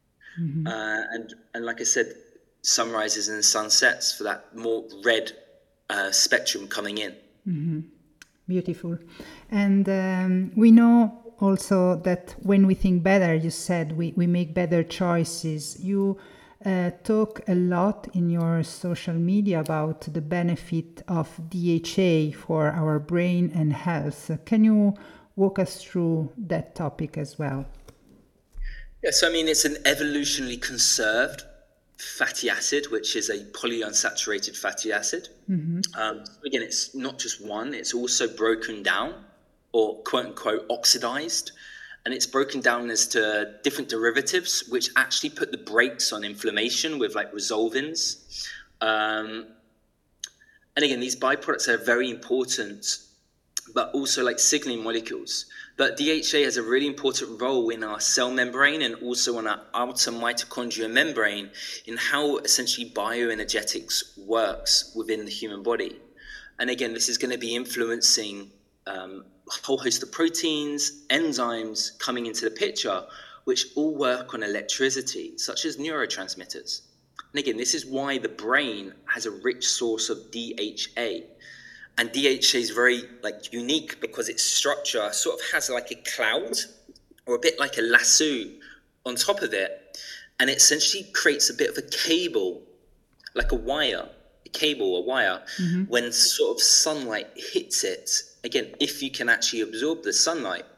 And like I said, sunrises and sunsets for that more red spectrum coming in. Beautiful. And we know also that when we think better, you said we make better choices. You talk a lot in your social media about the benefit of DHA for our brain and health. Can you walk us through that topic as well? Yeah, so I mean, it's an evolutionarily conserved fatty acid, which is a polyunsaturated fatty acid. Again, it's not just one, it's also broken down or quote unquote oxidized. And it's broken down as to different derivatives, which actually put the brakes on inflammation with like resolvins. And again, these byproducts are very important, but also like signaling molecules. But DHA has a really important role in our cell membrane and also on our outer mitochondrial membrane in how essentially bioenergetics works within the human body. And again, this is going to be influencing a whole host of proteins, enzymes coming into the picture, which all work on electricity, such as neurotransmitters. And again, this is why the brain has a rich source of DHA. And DHA is very like unique because its structure sort of has like a cloud or a bit like a lasso on top of it. And it essentially creates a bit of a cable, like a wire, when sort of sunlight hits it. Again, if you can actually absorb the sunlight,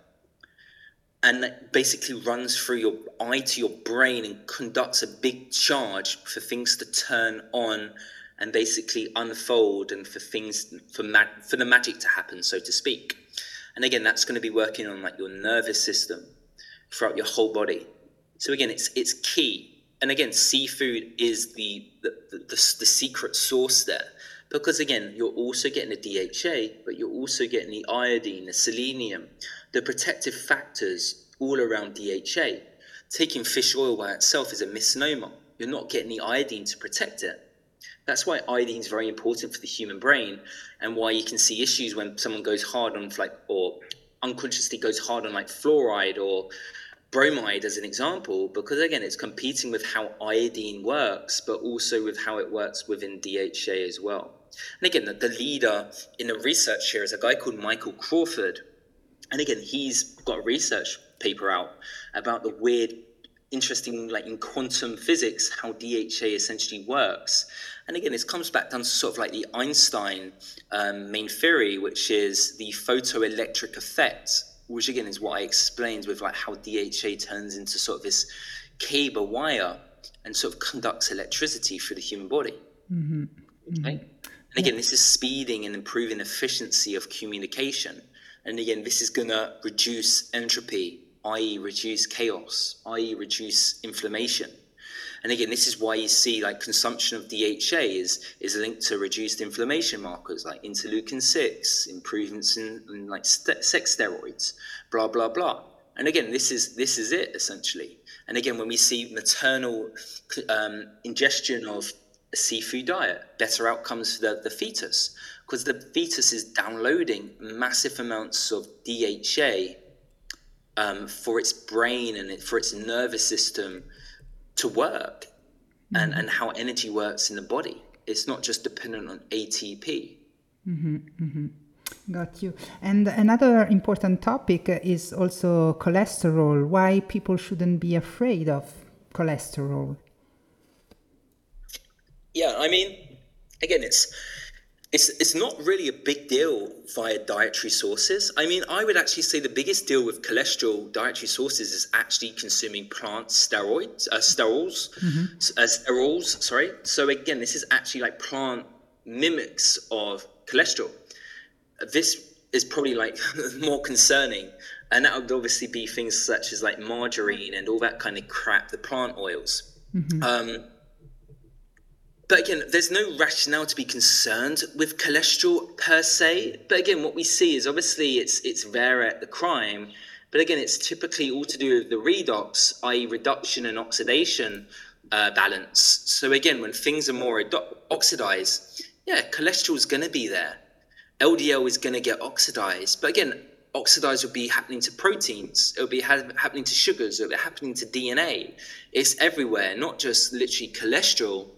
and that basically runs through your eye to your brain and conducts a big charge for things to turn on and basically unfold, and for things for the magic to happen, so to speak. And again, that's going to be working on like your nervous system throughout your whole body. So again, it's key. And again, seafood is the secret sauce there, because again, you're also getting the DHA, but you're also getting the iodine, the selenium, the protective factors all around DHA. Taking fish oil by itself is a misnomer. You're not getting the iodine to protect it. That's why iodine is very important for the human brain, and why you can see issues when someone goes hard on like, or unconsciously goes hard on like fluoride or bromide as an example, because again, it's competing with how iodine works, but also with how it works within DHA as well. And again, the leader in the research here is a guy called Michael Crawford. And again, he's got a research paper out about the weird, interesting, like in quantum physics, how DHA essentially works. And again, this comes back down to sort of like the Einstein main theory, which is the photoelectric effect, which again is what I explained with like how DHA turns into sort of this cable wire and sort of conducts electricity through the human body. Okay? And again, this is speeding and improving efficiency of communication. And again, this is going to reduce entropy, i.e. reduce chaos, i.e. reduce inflammation. And again, this is why you see like consumption of DHA is linked to reduced inflammation markers like interleukin-6, improvements in like sex steroids, blah, blah, blah. And again, this is it essentially. And again, when we see maternal ingestion of a seafood diet, better outcomes for the fetus, because the fetus is downloading massive amounts of DHA for its brain and for its nervous system to work, and how energy works in the body. It's not just dependent on ATP. Got you. And another important topic is also cholesterol. Why people shouldn't be afraid of cholesterol? Yeah, I mean, again, it's not really a big deal via dietary sources. I mean, I would actually say the biggest deal with cholesterol dietary sources is actually consuming plant sterols. Sorry. So again, this is actually like plant mimics of cholesterol. This is probably like more concerning, and that would obviously be things such as like margarine and all that kind of crap, the plant oils. But again, there's no rationale to be concerned with cholesterol per se. But again, what we see is obviously it's rare at the crime. But again, it's typically all to do with the redox, i.e. reduction and oxidation balance. So again, when things are more oxidized, yeah, cholesterol is going to be there. LDL is going to get oxidized. But again, oxidized will be happening to proteins. It'll be happening to sugars. It'll be happening to DNA. It's everywhere, not just literally cholesterol.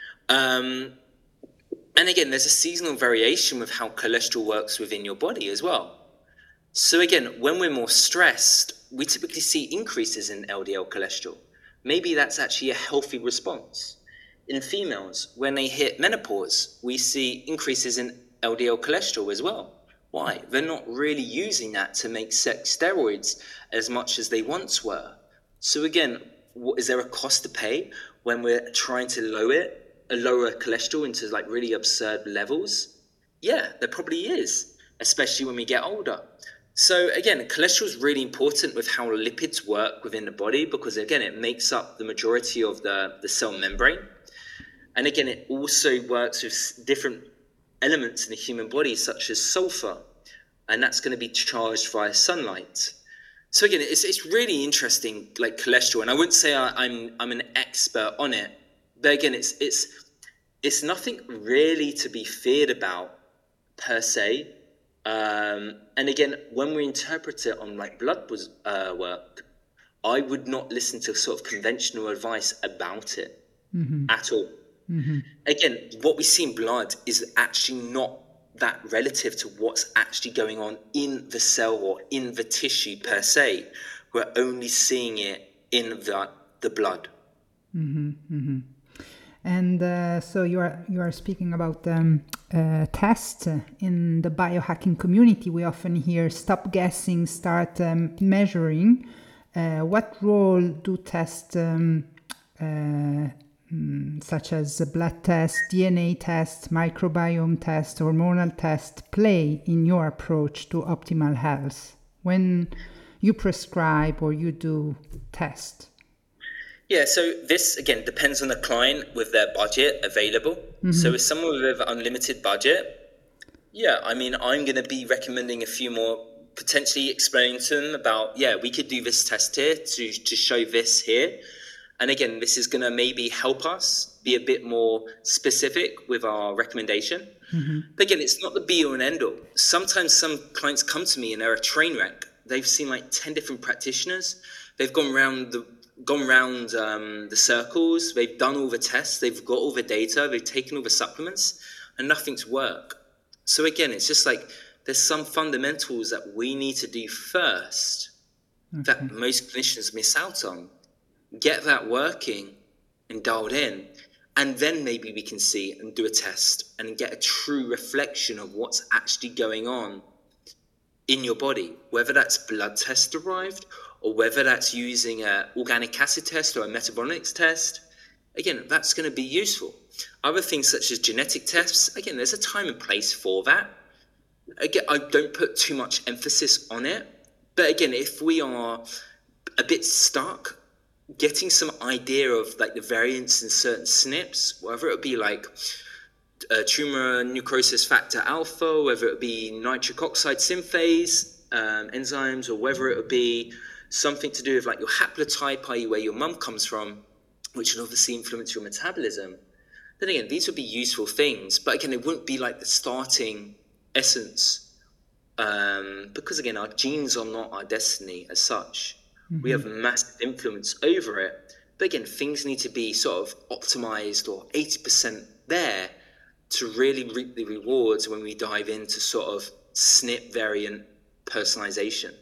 And again, there's a seasonal variation with how cholesterol works within your body as well. So again, when we're more stressed, we typically see increases in LDL cholesterol. Maybe that's actually a healthy response. In females, when they hit menopause, we see increases in LDL cholesterol as well. Why? They're not really using that to make sex steroids as much as they once were. So again, is there a cost to pay when we're trying to lower cholesterol into like really absurd levels? Yeah, there probably is, especially when we get older. So again, cholesterol is really important with how lipids work within the body, because again, it makes up the majority of the cell membrane. And again, it also works with different elements in the human body, such as sulfur, and that's going to be charged via sunlight. So again, it's really interesting, like cholesterol, and I wouldn't say I'm an expert on it, but again, it's nothing really to be feared about per se. And again, when we interpret it on like blood work, I would not listen to sort of conventional advice about it at all. Again, what we see in blood is actually not that relative to what's actually going on in the cell or in the tissue per se. We're only seeing it in the blood. And so you are speaking about tests in the biohacking community. We often hear stop guessing, start measuring. What role do tests such as blood tests, DNA tests, microbiome tests, hormonal tests play in your approach to optimal health when you prescribe or you do test? Yeah, so this, again, depends on the client with their budget available. So if someone with an unlimited budget, yeah, I mean, I'm going to be recommending a few more, potentially explaining to them about, yeah, we could do this test here to show this here. And again, this is going to maybe help us be a bit more specific with our recommendation. But again, it's not the be all and end all. Sometimes some clients come to me and they're a train wreck. They've seen like 10 different practitioners. They've gone round the circles. They've done all the tests. They've got all the data. They've taken all the supplements and nothing's worked. So again, it's just like there's some fundamentals that we need to do first that most clinicians miss out on. Get that working and dialed in, and then maybe we can see and do a test and get a true reflection of what's actually going on in your body, whether that's blood test derived or whether that's using an organic acid test or a metabolics test. Again, that's going to be useful. Other things such as genetic tests, again, there's a time and place for that. Again, I don't put too much emphasis on it, but again, if we are a bit stuck, getting some idea of like the variants in certain SNPs, whether it be like tumor necrosis factor alpha, whether it be nitric oxide synthase enzymes, or whether it would be something to do with like your haplotype, i.e. where your mum comes from, which would obviously influence your metabolism, then again, these would be useful things. But again, it wouldn't be like the starting essence, because again, our genes are not our destiny as such. We have massive influence over it. But again, things need to be sort of optimized or 80% there to really reap the rewards when we dive into sort of SNP variant personalization.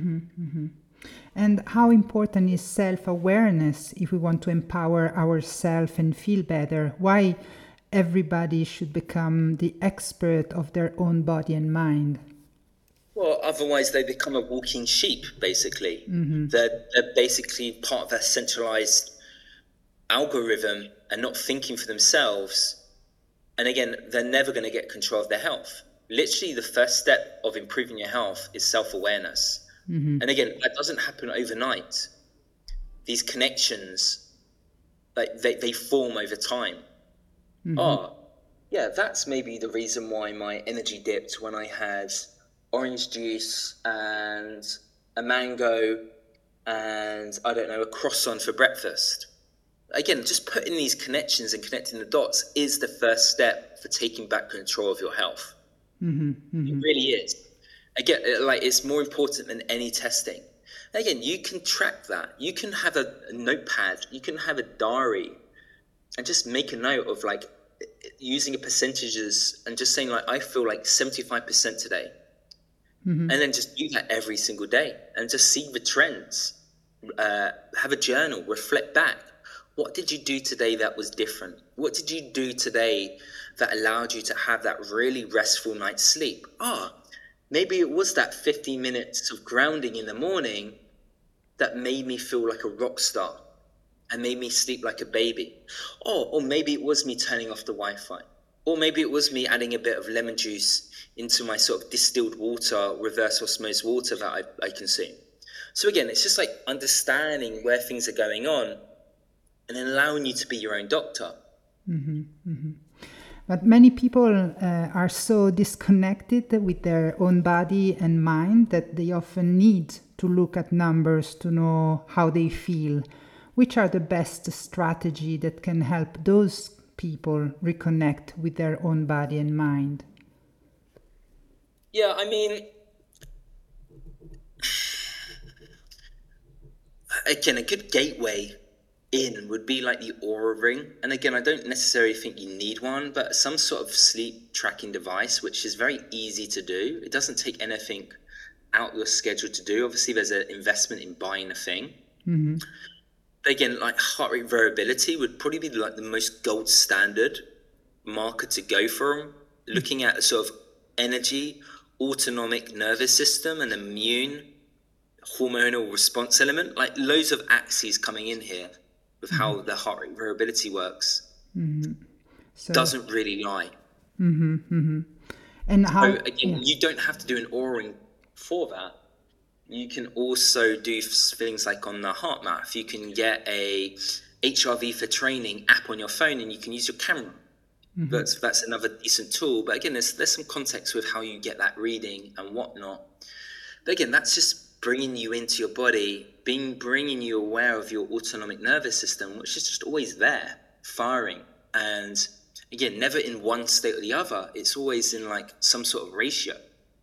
And how important is self-awareness if we want to empower ourselves and feel better? Why everybody should become the expert of their own body and mind? Well, otherwise they become a walking sheep, basically. They're basically part of a centralized algorithm and not thinking for themselves. And again, they're never going to get control of their health. Literally, the first step of improving your health is self-awareness. And again, that doesn't happen overnight. These connections, like they form over time. Oh, yeah, that's maybe the reason why my energy dipped when I had orange juice and a mango and, I don't know, a croissant for breakfast. Again, just putting these connections and connecting the dots is the first step for taking back control of your health. It really is. Again, like, it's more important than any testing. Again, you can track that. You can have a notepad. You can have a diary and just make a note of, like, using a percentages and just saying, like, I feel like 75% today. And then just do that every single day and just see the trends. Have a journal, reflect back. What did you do today that was different? What did you do today that allowed you to have that really restful night's sleep? Maybe it was that 15 minutes of grounding in the morning that made me feel like a rock star and made me sleep like a baby. Or maybe it was me turning off the Wi-Fi. Or maybe it was me adding a bit of lemon juice into my sort of distilled water, reverse osmosis water that I consume. So again, it's just like understanding where things are going on and then allowing you to be your own doctor. But many people are so disconnected with their own body and mind that they often need to look at numbers to know how they feel. Which are the best strategy that can help those people reconnect with their own body and mind? Yeah, I mean, again, a good gateway in would be like the Oura Ring. And again, I don't necessarily think you need one, but some sort of sleep tracking device, which is very easy to do. It doesn't take anything out your schedule to do. Obviously, there's an investment in buying a thing. But again, like heart rate variability would probably be like the most gold standard marker to go from. Looking at a sort of energy, autonomic nervous system, and immune hormonal response element, like loads of axes coming in here with how the heart rate variability works. So, doesn't really lie. And how? So again, you don't have to do an Oura Ring for that. You can also do things like on the HeartMath. You can get a HRV for training app on your phone, and you can use your camera. That's another decent tool. But again, there's some context with how you get that reading and whatnot. But again, that's just bringing you into your body, bringing you aware of your autonomic nervous system, which is just always there, firing. And again, never in one state or the other. It's always in like some sort of ratio.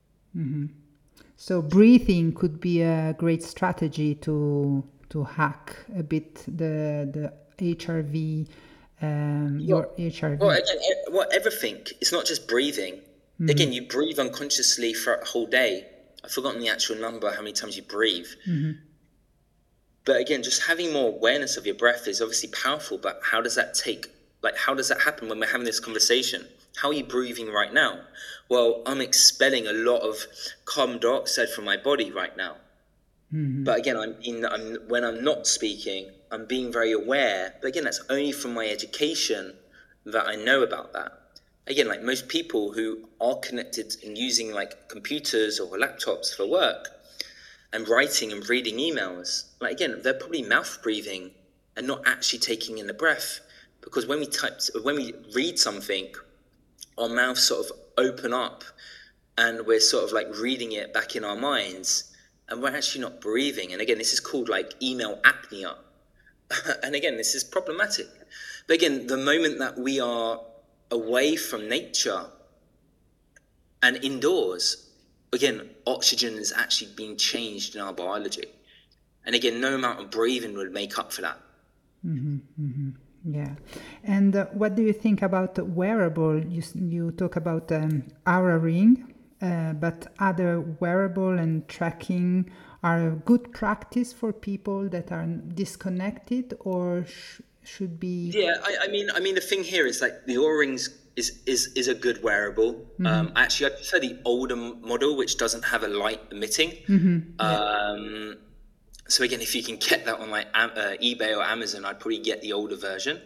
So breathing could be a great strategy to hack a bit the HRV. Your HRV. Well, again, everything. It's not just breathing. Again, you breathe unconsciously for a whole day. I've forgotten the actual number, how many times you breathe. But again, just having more awareness of your breath is obviously powerful. But how does that happen when we're having this conversation? How are you breathing right now? Well, I'm expelling a lot of carbon dioxide from my body right now. But again, when I'm not speaking, I'm being very aware. But again, that's only from my education that I know about that. Again, like most people who are connected and using like computers or laptops for work and writing and reading emails, like again, they're probably mouth breathing and not actually taking in the breath. Because when we read something, our mouths sort of open up and we're sort of like reading it back in our minds and we're actually not breathing. And again, this is called like email apnea. And again, this is problematic. But again, the moment that we are away from nature and indoors, again, oxygen is actually being changed in our biology. And again, no amount of breathing would make up for that. Yeah. And what do you think about wearable? You talk about Oura Ring. but other wearable and tracking are a good practice for people that are disconnected, or should be. Yeah, I mean, the thing here is like the Oura Rings is a good wearable. Actually, I prefer the older model, which doesn't have a light emitting. So again, if you can get that on like eBay or Amazon, I'd probably get the older version.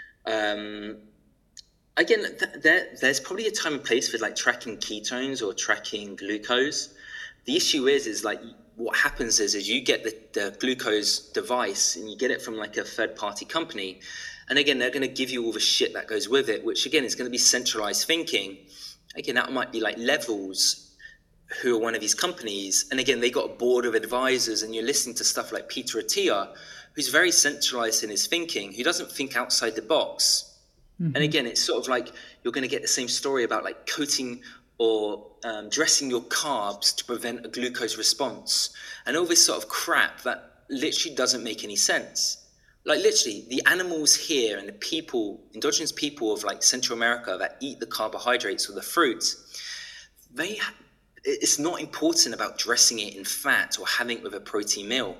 Again, there's probably a time and place for like tracking ketones or tracking glucose. The issue is like what happens is you get the glucose device and you get it from like a third-party company. And again, they're going to give you all the shit that goes with it, which again is going to be centralized thinking. Again, that might be like Levels, who are one of these companies. And again, they got a board of advisors, and you're listening to stuff like Peter Attia, who's very centralized in his thinking, who doesn't think outside the box. And again, it's sort of like you're going to get the same story about like coating or dressing your carbs to prevent a glucose response, and all this sort of crap that literally doesn't make any sense. Like literally, the animals here and the people, indigenous people of like Central America that eat the carbohydrates or the fruits, it's not important about dressing it in fat or having it with a protein meal.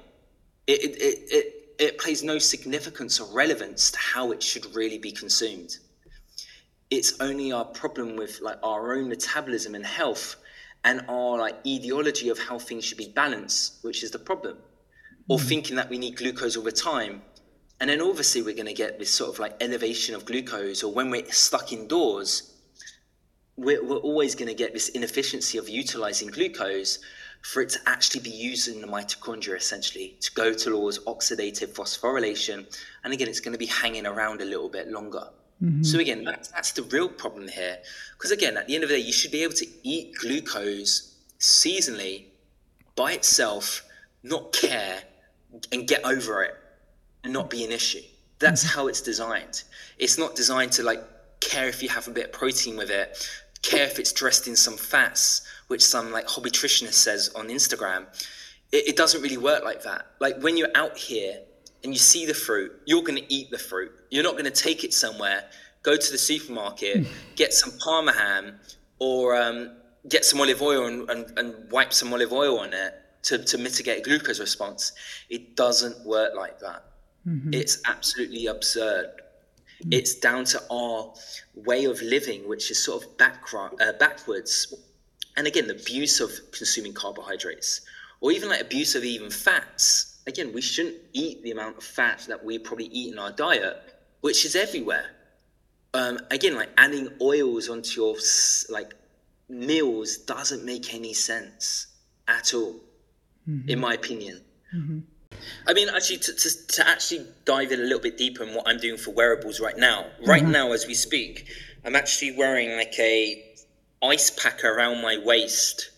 It plays no significance or relevance to how it should really be consumed. It's only our problem with like our own metabolism and health and our like ideology of how things should be balanced, which is the problem. Or thinking that we need glucose all the time. And then obviously we're going to get this sort of like elevation of glucose, or when we're stuck indoors, we're always going to get this inefficiency of utilizing glucose for it to actually be used in the mitochondria, essentially, to go towards oxidative phosphorylation. And again, it's going to be hanging around a little bit longer. So again, that's the real problem here. Because again, at the end of the day, you should be able to eat glucose seasonally by itself, not care, and get over it, and not be an issue. That's how it's designed. It's not designed to like care if you have a bit of protein with it, care if it's dressed in some fats, which some like hobby nutritionist says on Instagram. It doesn't really work like that. Like when you're out here and you see the fruit, you're going to eat the fruit. You're not going to take it somewhere, go to the supermarket, get some Parma ham, or get some olive oil and wipe some olive oil on it to mitigate a glucose response. It doesn't work like that. It's absolutely absurd. It's down to our way of living, which is sort of backwards. And again, the abuse of consuming carbohydrates, or even like abuse of even fats. Again, we shouldn't eat the amount of fat that we probably eat in our diet, which is everywhere. Again, like adding oils onto your like meals doesn't make any sense at all, in my opinion. I mean, actually, to actually dive in a little bit deeper in what I'm doing for wearables right now. Right now, as we speak, I'm actually wearing like a ice pack around my waist.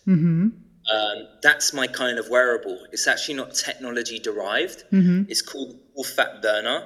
That's my kind of wearable. It's actually not technology derived. It's called Full Fat Burner.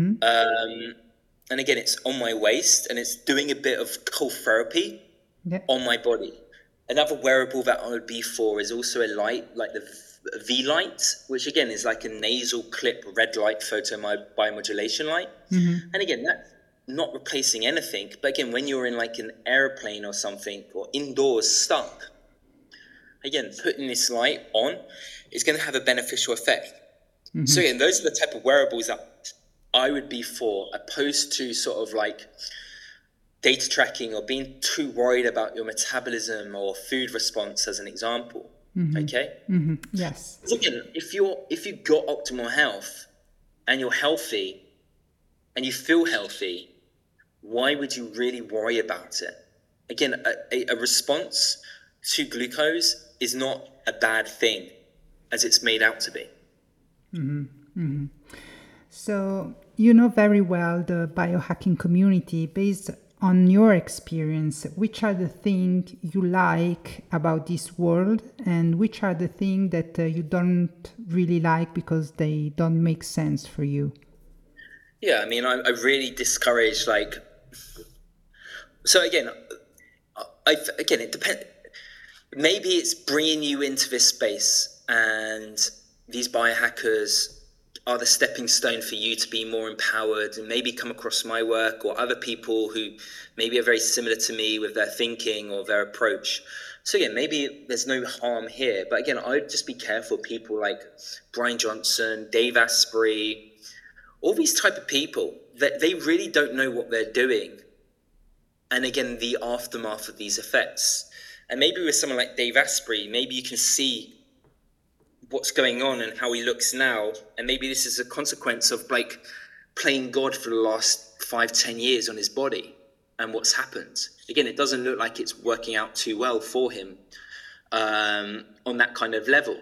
And again, it's on my waist, and it's doing a bit of cold therapy on my body. Another wearable that I would be for is also a light, like the V-Light, which again is like a nasal clip red light photo biomodulation light. And again, that's not replacing anything. But again, when you're in like an airplane or something, or indoors stuck, again, putting this light on is going to have a beneficial effect. So again, those are the type of wearables that I would be for, opposed to sort of like data tracking or being too worried about your metabolism or food response, as an example. Okay. Yes. So again, if you've got optimal health and you're healthy and you feel healthy, why would you really worry about it? Again, a response to glucose is not a bad thing as it's made out to be. So you know very well the biohacking community. Based on your experience, which are the things you like about this world, and which are the things that you don't really like because they don't make sense for you? Yeah, I mean, I really discourage like. So again, it depends. Maybe it's bringing you into this space, and these biohackers are the stepping stone for you to be more empowered, and maybe come across my work or other people who maybe are very similar to me with their thinking or their approach So again, maybe there's no harm here, but again, I'd just be careful. People like Brian Johnson, Dave Asprey, all these type of people that they really don't know what they're doing. And again, the aftermath of these effects. And maybe with someone like Dave Asprey, maybe you can see what's going on and how he looks now. And maybe this is a consequence of like playing God for the last 5-10 years on his body and what's happened. Again, it doesn't look like it's working out too well for him on that kind of level.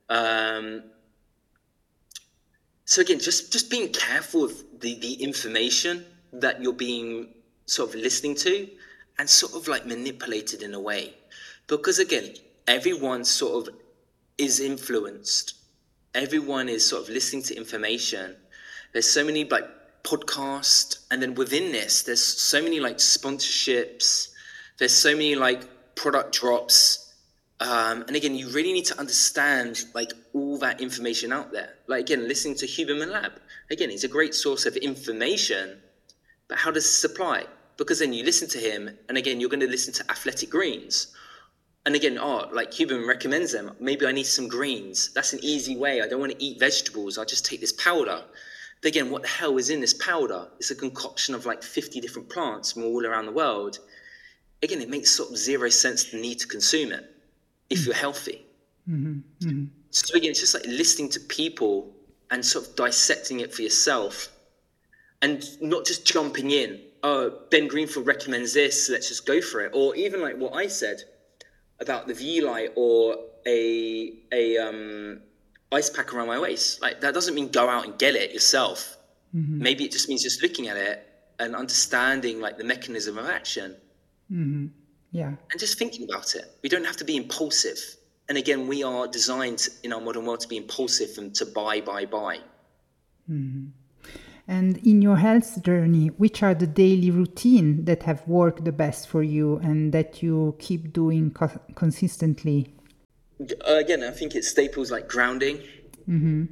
So again, just being careful of the information that you're being sort of listening to and sort of like manipulated in a way. Because again, everyone sort of is influenced. Everyone is sort of listening to information. There's so many like podcasts, and then within this, there's so many like sponsorships. There's so many like product drops. And again, you really need to understand like all that information out there. Like again, listening to Huberman Lab. Again, he's a great source of information, but how does it apply? Because then you listen to him, and again, you're going to listen to Athletic Greens. And again, like Huberman recommends them. Maybe I need some greens. That's an easy way. I don't want to eat vegetables. I'll just take this powder. But again, what the hell is in this powder? It's a concoction of like 50 different plants from all around the world. Again, it makes sort of zero sense to need to consume it if you're healthy. Mm-hmm. Mm-hmm. So again, it's just like listening to people and sort of dissecting it for yourself and not just jumping in. Oh, Ben Greenfield recommends this, let's just go for it. Or even like what I said about the Vielight or a ice pack around my waist. Like that doesn't mean go out and get it yourself. Mm-hmm. Maybe it just means just looking at it and understanding like the mechanism of action. Mm-hmm. Yeah. And just thinking about it. We don't have to be impulsive. And again, we are designed in our modern world to be impulsive and to buy. Mm-hmm. And in your health journey, which are the daily routine that have worked the best for you and that you keep doing consistently? Again, I think it's staples like grounding, mm-hmm.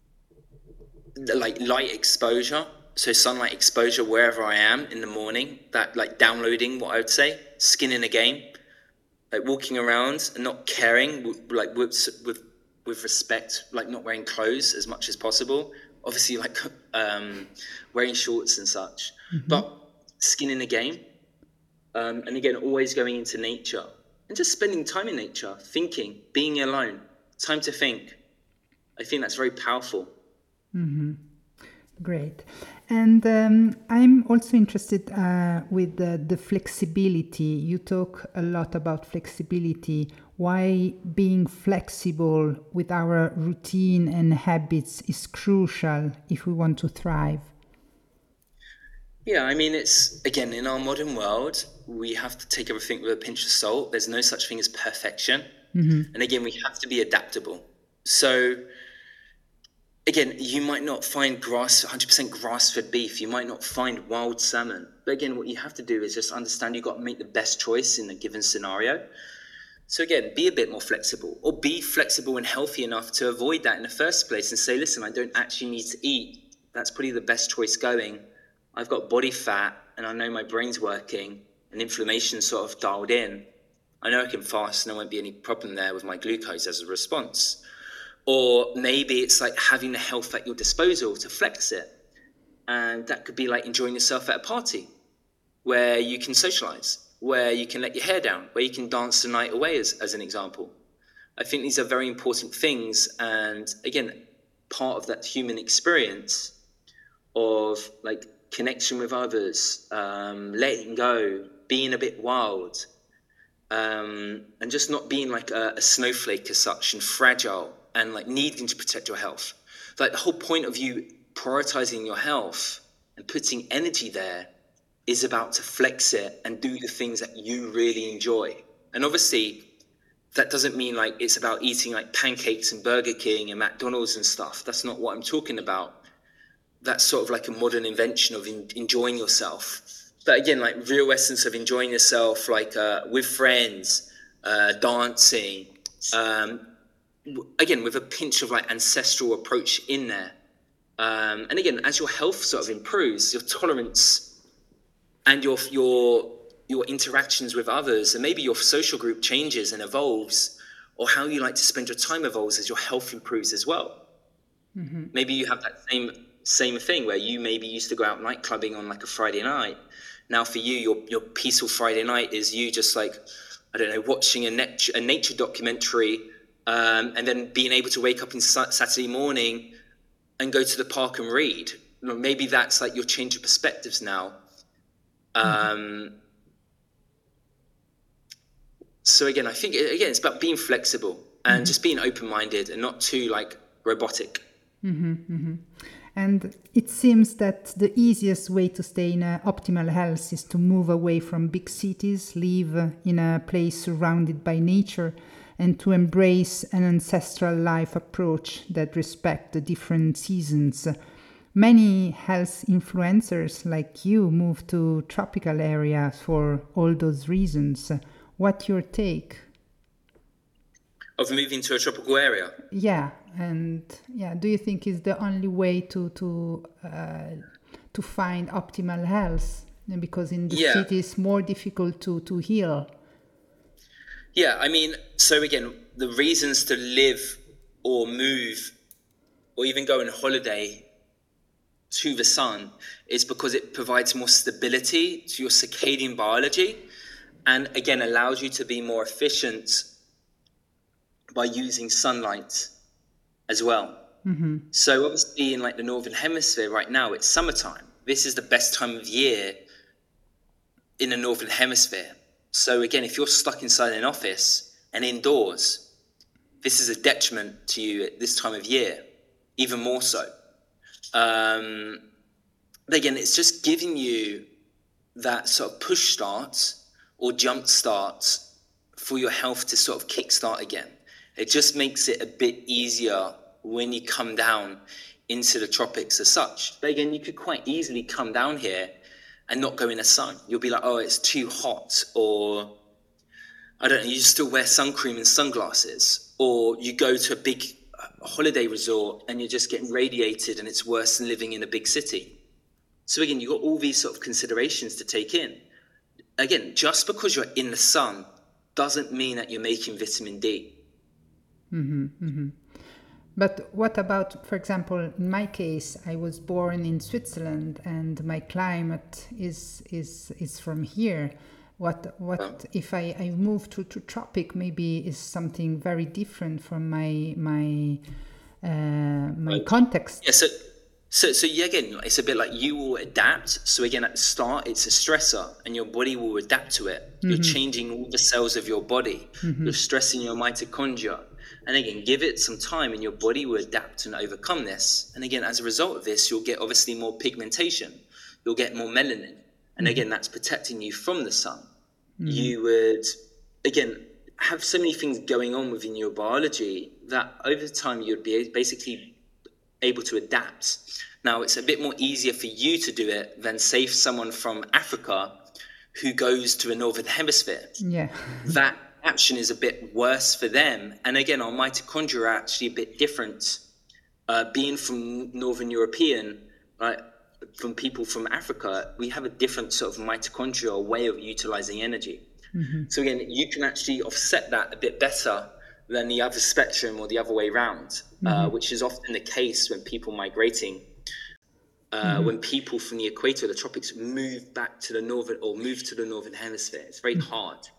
like light exposure. So sunlight exposure wherever I am in the morning, that like downloading what I would say, skin in a game, like walking around and not caring, like with respect, like not wearing clothes as much as possible. Obviously, like wearing shorts and such, mm-hmm. but skin in the game. And again, always going into nature and just spending time in nature, thinking, being alone, time to think. I think that's very powerful. Mm-hmm. Great. And I'm also interested with the flexibility. You talk a lot about flexibility. Why being flexible with our routine and habits is crucial if we want to thrive. Yeah, I mean, it's, again, in our modern world, we have to take everything with a pinch of salt. There's no such thing as perfection. Mm-hmm. And again, we have to be adaptable. So again, you might not find 100% grass-fed beef. You might not find wild salmon. But again, what you have to do is just understand you've got to make the best choice in a given scenario. So again, be a bit more flexible, or be flexible and healthy enough to avoid that in the first place and say, listen, I don't actually need to eat. That's probably the best choice going. I've got body fat and I know my brain's working and inflammation sort of dialed in. I know I can fast and there won't be any problem there with my glucose as a response. Or maybe it's like having the health at your disposal to flex it. And that could be like enjoying yourself at a party where you can socialize, where you can let your hair down, where you can dance the night away as an example. I think these are very important things. And again, part of that human experience of like connection with others, letting go, being a bit wild, and just not being like a snowflake as such and fragile and like needing to protect your health. Like the whole point of you prioritizing your health and putting energy there is about to flex it and do the things that you really enjoy. And obviously that doesn't mean like it's about eating like pancakes and Burger King and McDonald's and stuff. That's not what I'm talking about. That's sort of like a modern invention of enjoying yourself. But again, like real essence of enjoying yourself, like with friends, dancing, again, with a pinch of like ancestral approach in there. And again, as your health sort of improves, your tolerance and your your interactions with others, and maybe your social group changes and evolves, or how you like to spend your time evolves as your health improves as well. Maybe you have that same thing where you maybe used to go out night clubbing on like a Friday night. Now for you, your peaceful Friday night is you just like, I don't know, watching a nature documentary, and then being able to wake up on Saturday morning and go to the park and read. Maybe that's like your change of perspectives now. So again, I think it's about being flexible and just being open-minded and not too like robotic. And it seems that the easiest way to stay in optimal health is to move away from big cities, live in a place surrounded by nature, and to embrace an ancestral life approach that respects the different seasons. Many health influencers like you move to tropical areas for all those reasons. What's your take? Of moving to a tropical area? Yeah, and do you think is the only way to find optimal health? Because in the city it's more difficult to heal. Yeah, I mean, so again, the reasons to live or move or even go on holiday to the sun is because it provides more stability to your circadian biology, and again allows you to be more efficient by using sunlight as well. So obviously in like the Northern Hemisphere right now, it's summertime. This is the best time of year in the Northern Hemisphere. So again, if you're stuck inside an office and indoors, this is a detriment to you at this time of year, even more so. But again, it's just giving you that sort of push start or jump start for your health to sort of kickstart again. It just makes it a bit easier when you come down into the tropics as such. But again, you could quite easily come down here and not go in the sun. You'll be like, oh, it's too hot, or I don't know, you still wear sun cream and sunglasses, or you go to a big holiday resort and you're just getting radiated and it's worse than living in a big city. So again, you've got all these sort of considerations to take in. Again, just because you're in the sun doesn't mean that you're making vitamin D. But what about, for example, in my case, I was born in Switzerland and my climate is from here. What if I move to tropic? Maybe is something very different from my context. Yeah. So yeah, again, it's a bit like you will adapt. So again, at the start, it's a stressor, and your body will adapt to it. You're changing all the cells of your body. You're stressing your mitochondria. And again, give it some time and your body will adapt and overcome this. And again, as a result of this, you'll get obviously more pigmentation. You'll get more melanin. And again, that's protecting you from the sun. You would, again, have so many things going on within your biology that over time you'd be basically able to adapt. Now, it's a bit more easier for you to do it than, say, someone from Africa who goes to a Northern Hemisphere. Yeah. That action is a bit worse for them. And again, our mitochondria are actually a bit different. Being from Northern European, right, from people from Africa, we have a different sort of mitochondrial way of utilizing energy. So again, you can actually offset that a bit better than the other spectrum or the other way around, which is often the case when people migrating. When people from the equator, the tropics, move back to the northern or move to the Northern Hemisphere. It's very hard.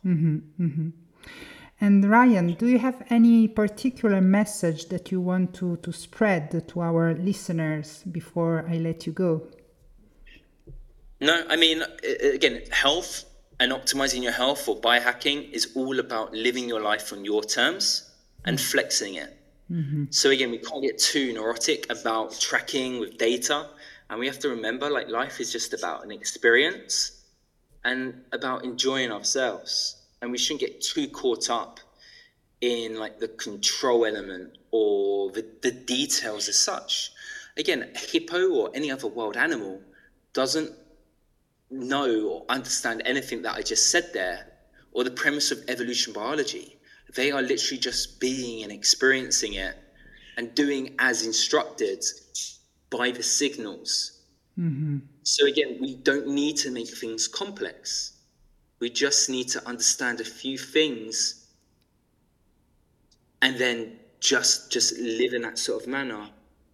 And Ryan, do you have any particular message that you want to spread to our listeners before I let you go? No, I mean, again, health and optimizing your health or biohacking is all about living your life on your terms and flexing it. So again, we can't get too neurotic about tracking with data. And we have to remember, like, life is just about an experience and about enjoying ourselves. And we shouldn't get too caught up in like the control element or the details as such. Again, a hippo or any other wild animal doesn't know or understand anything that I just said there, or the premise of evolution biology. They are literally just being and experiencing it and doing as instructed by the signals. So again, we don't need to make things complex. We just need to understand a few things and then just live in that sort of manner.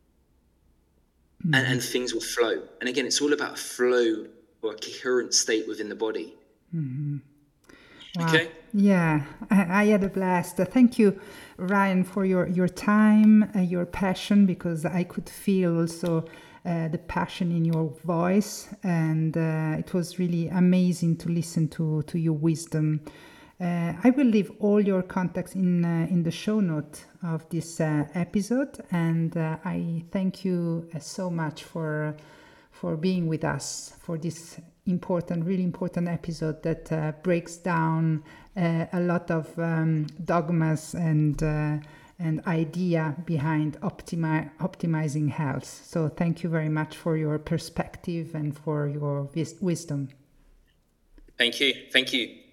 And things will flow. And again, it's all about a flow or a coherent state within the body. Wow. Okay? Yeah, I had a blast. Thank you, Ryan, for your time, your passion, because I could feel also the passion in your voice, and it was really amazing to listen to your wisdom. I will leave all your contacts in the show note of this episode, and I thank you so much for being with us for this really important episode that breaks down a lot of dogmas and idea behind optimizing health. So thank you very much for your perspective and for your wisdom. Thank you.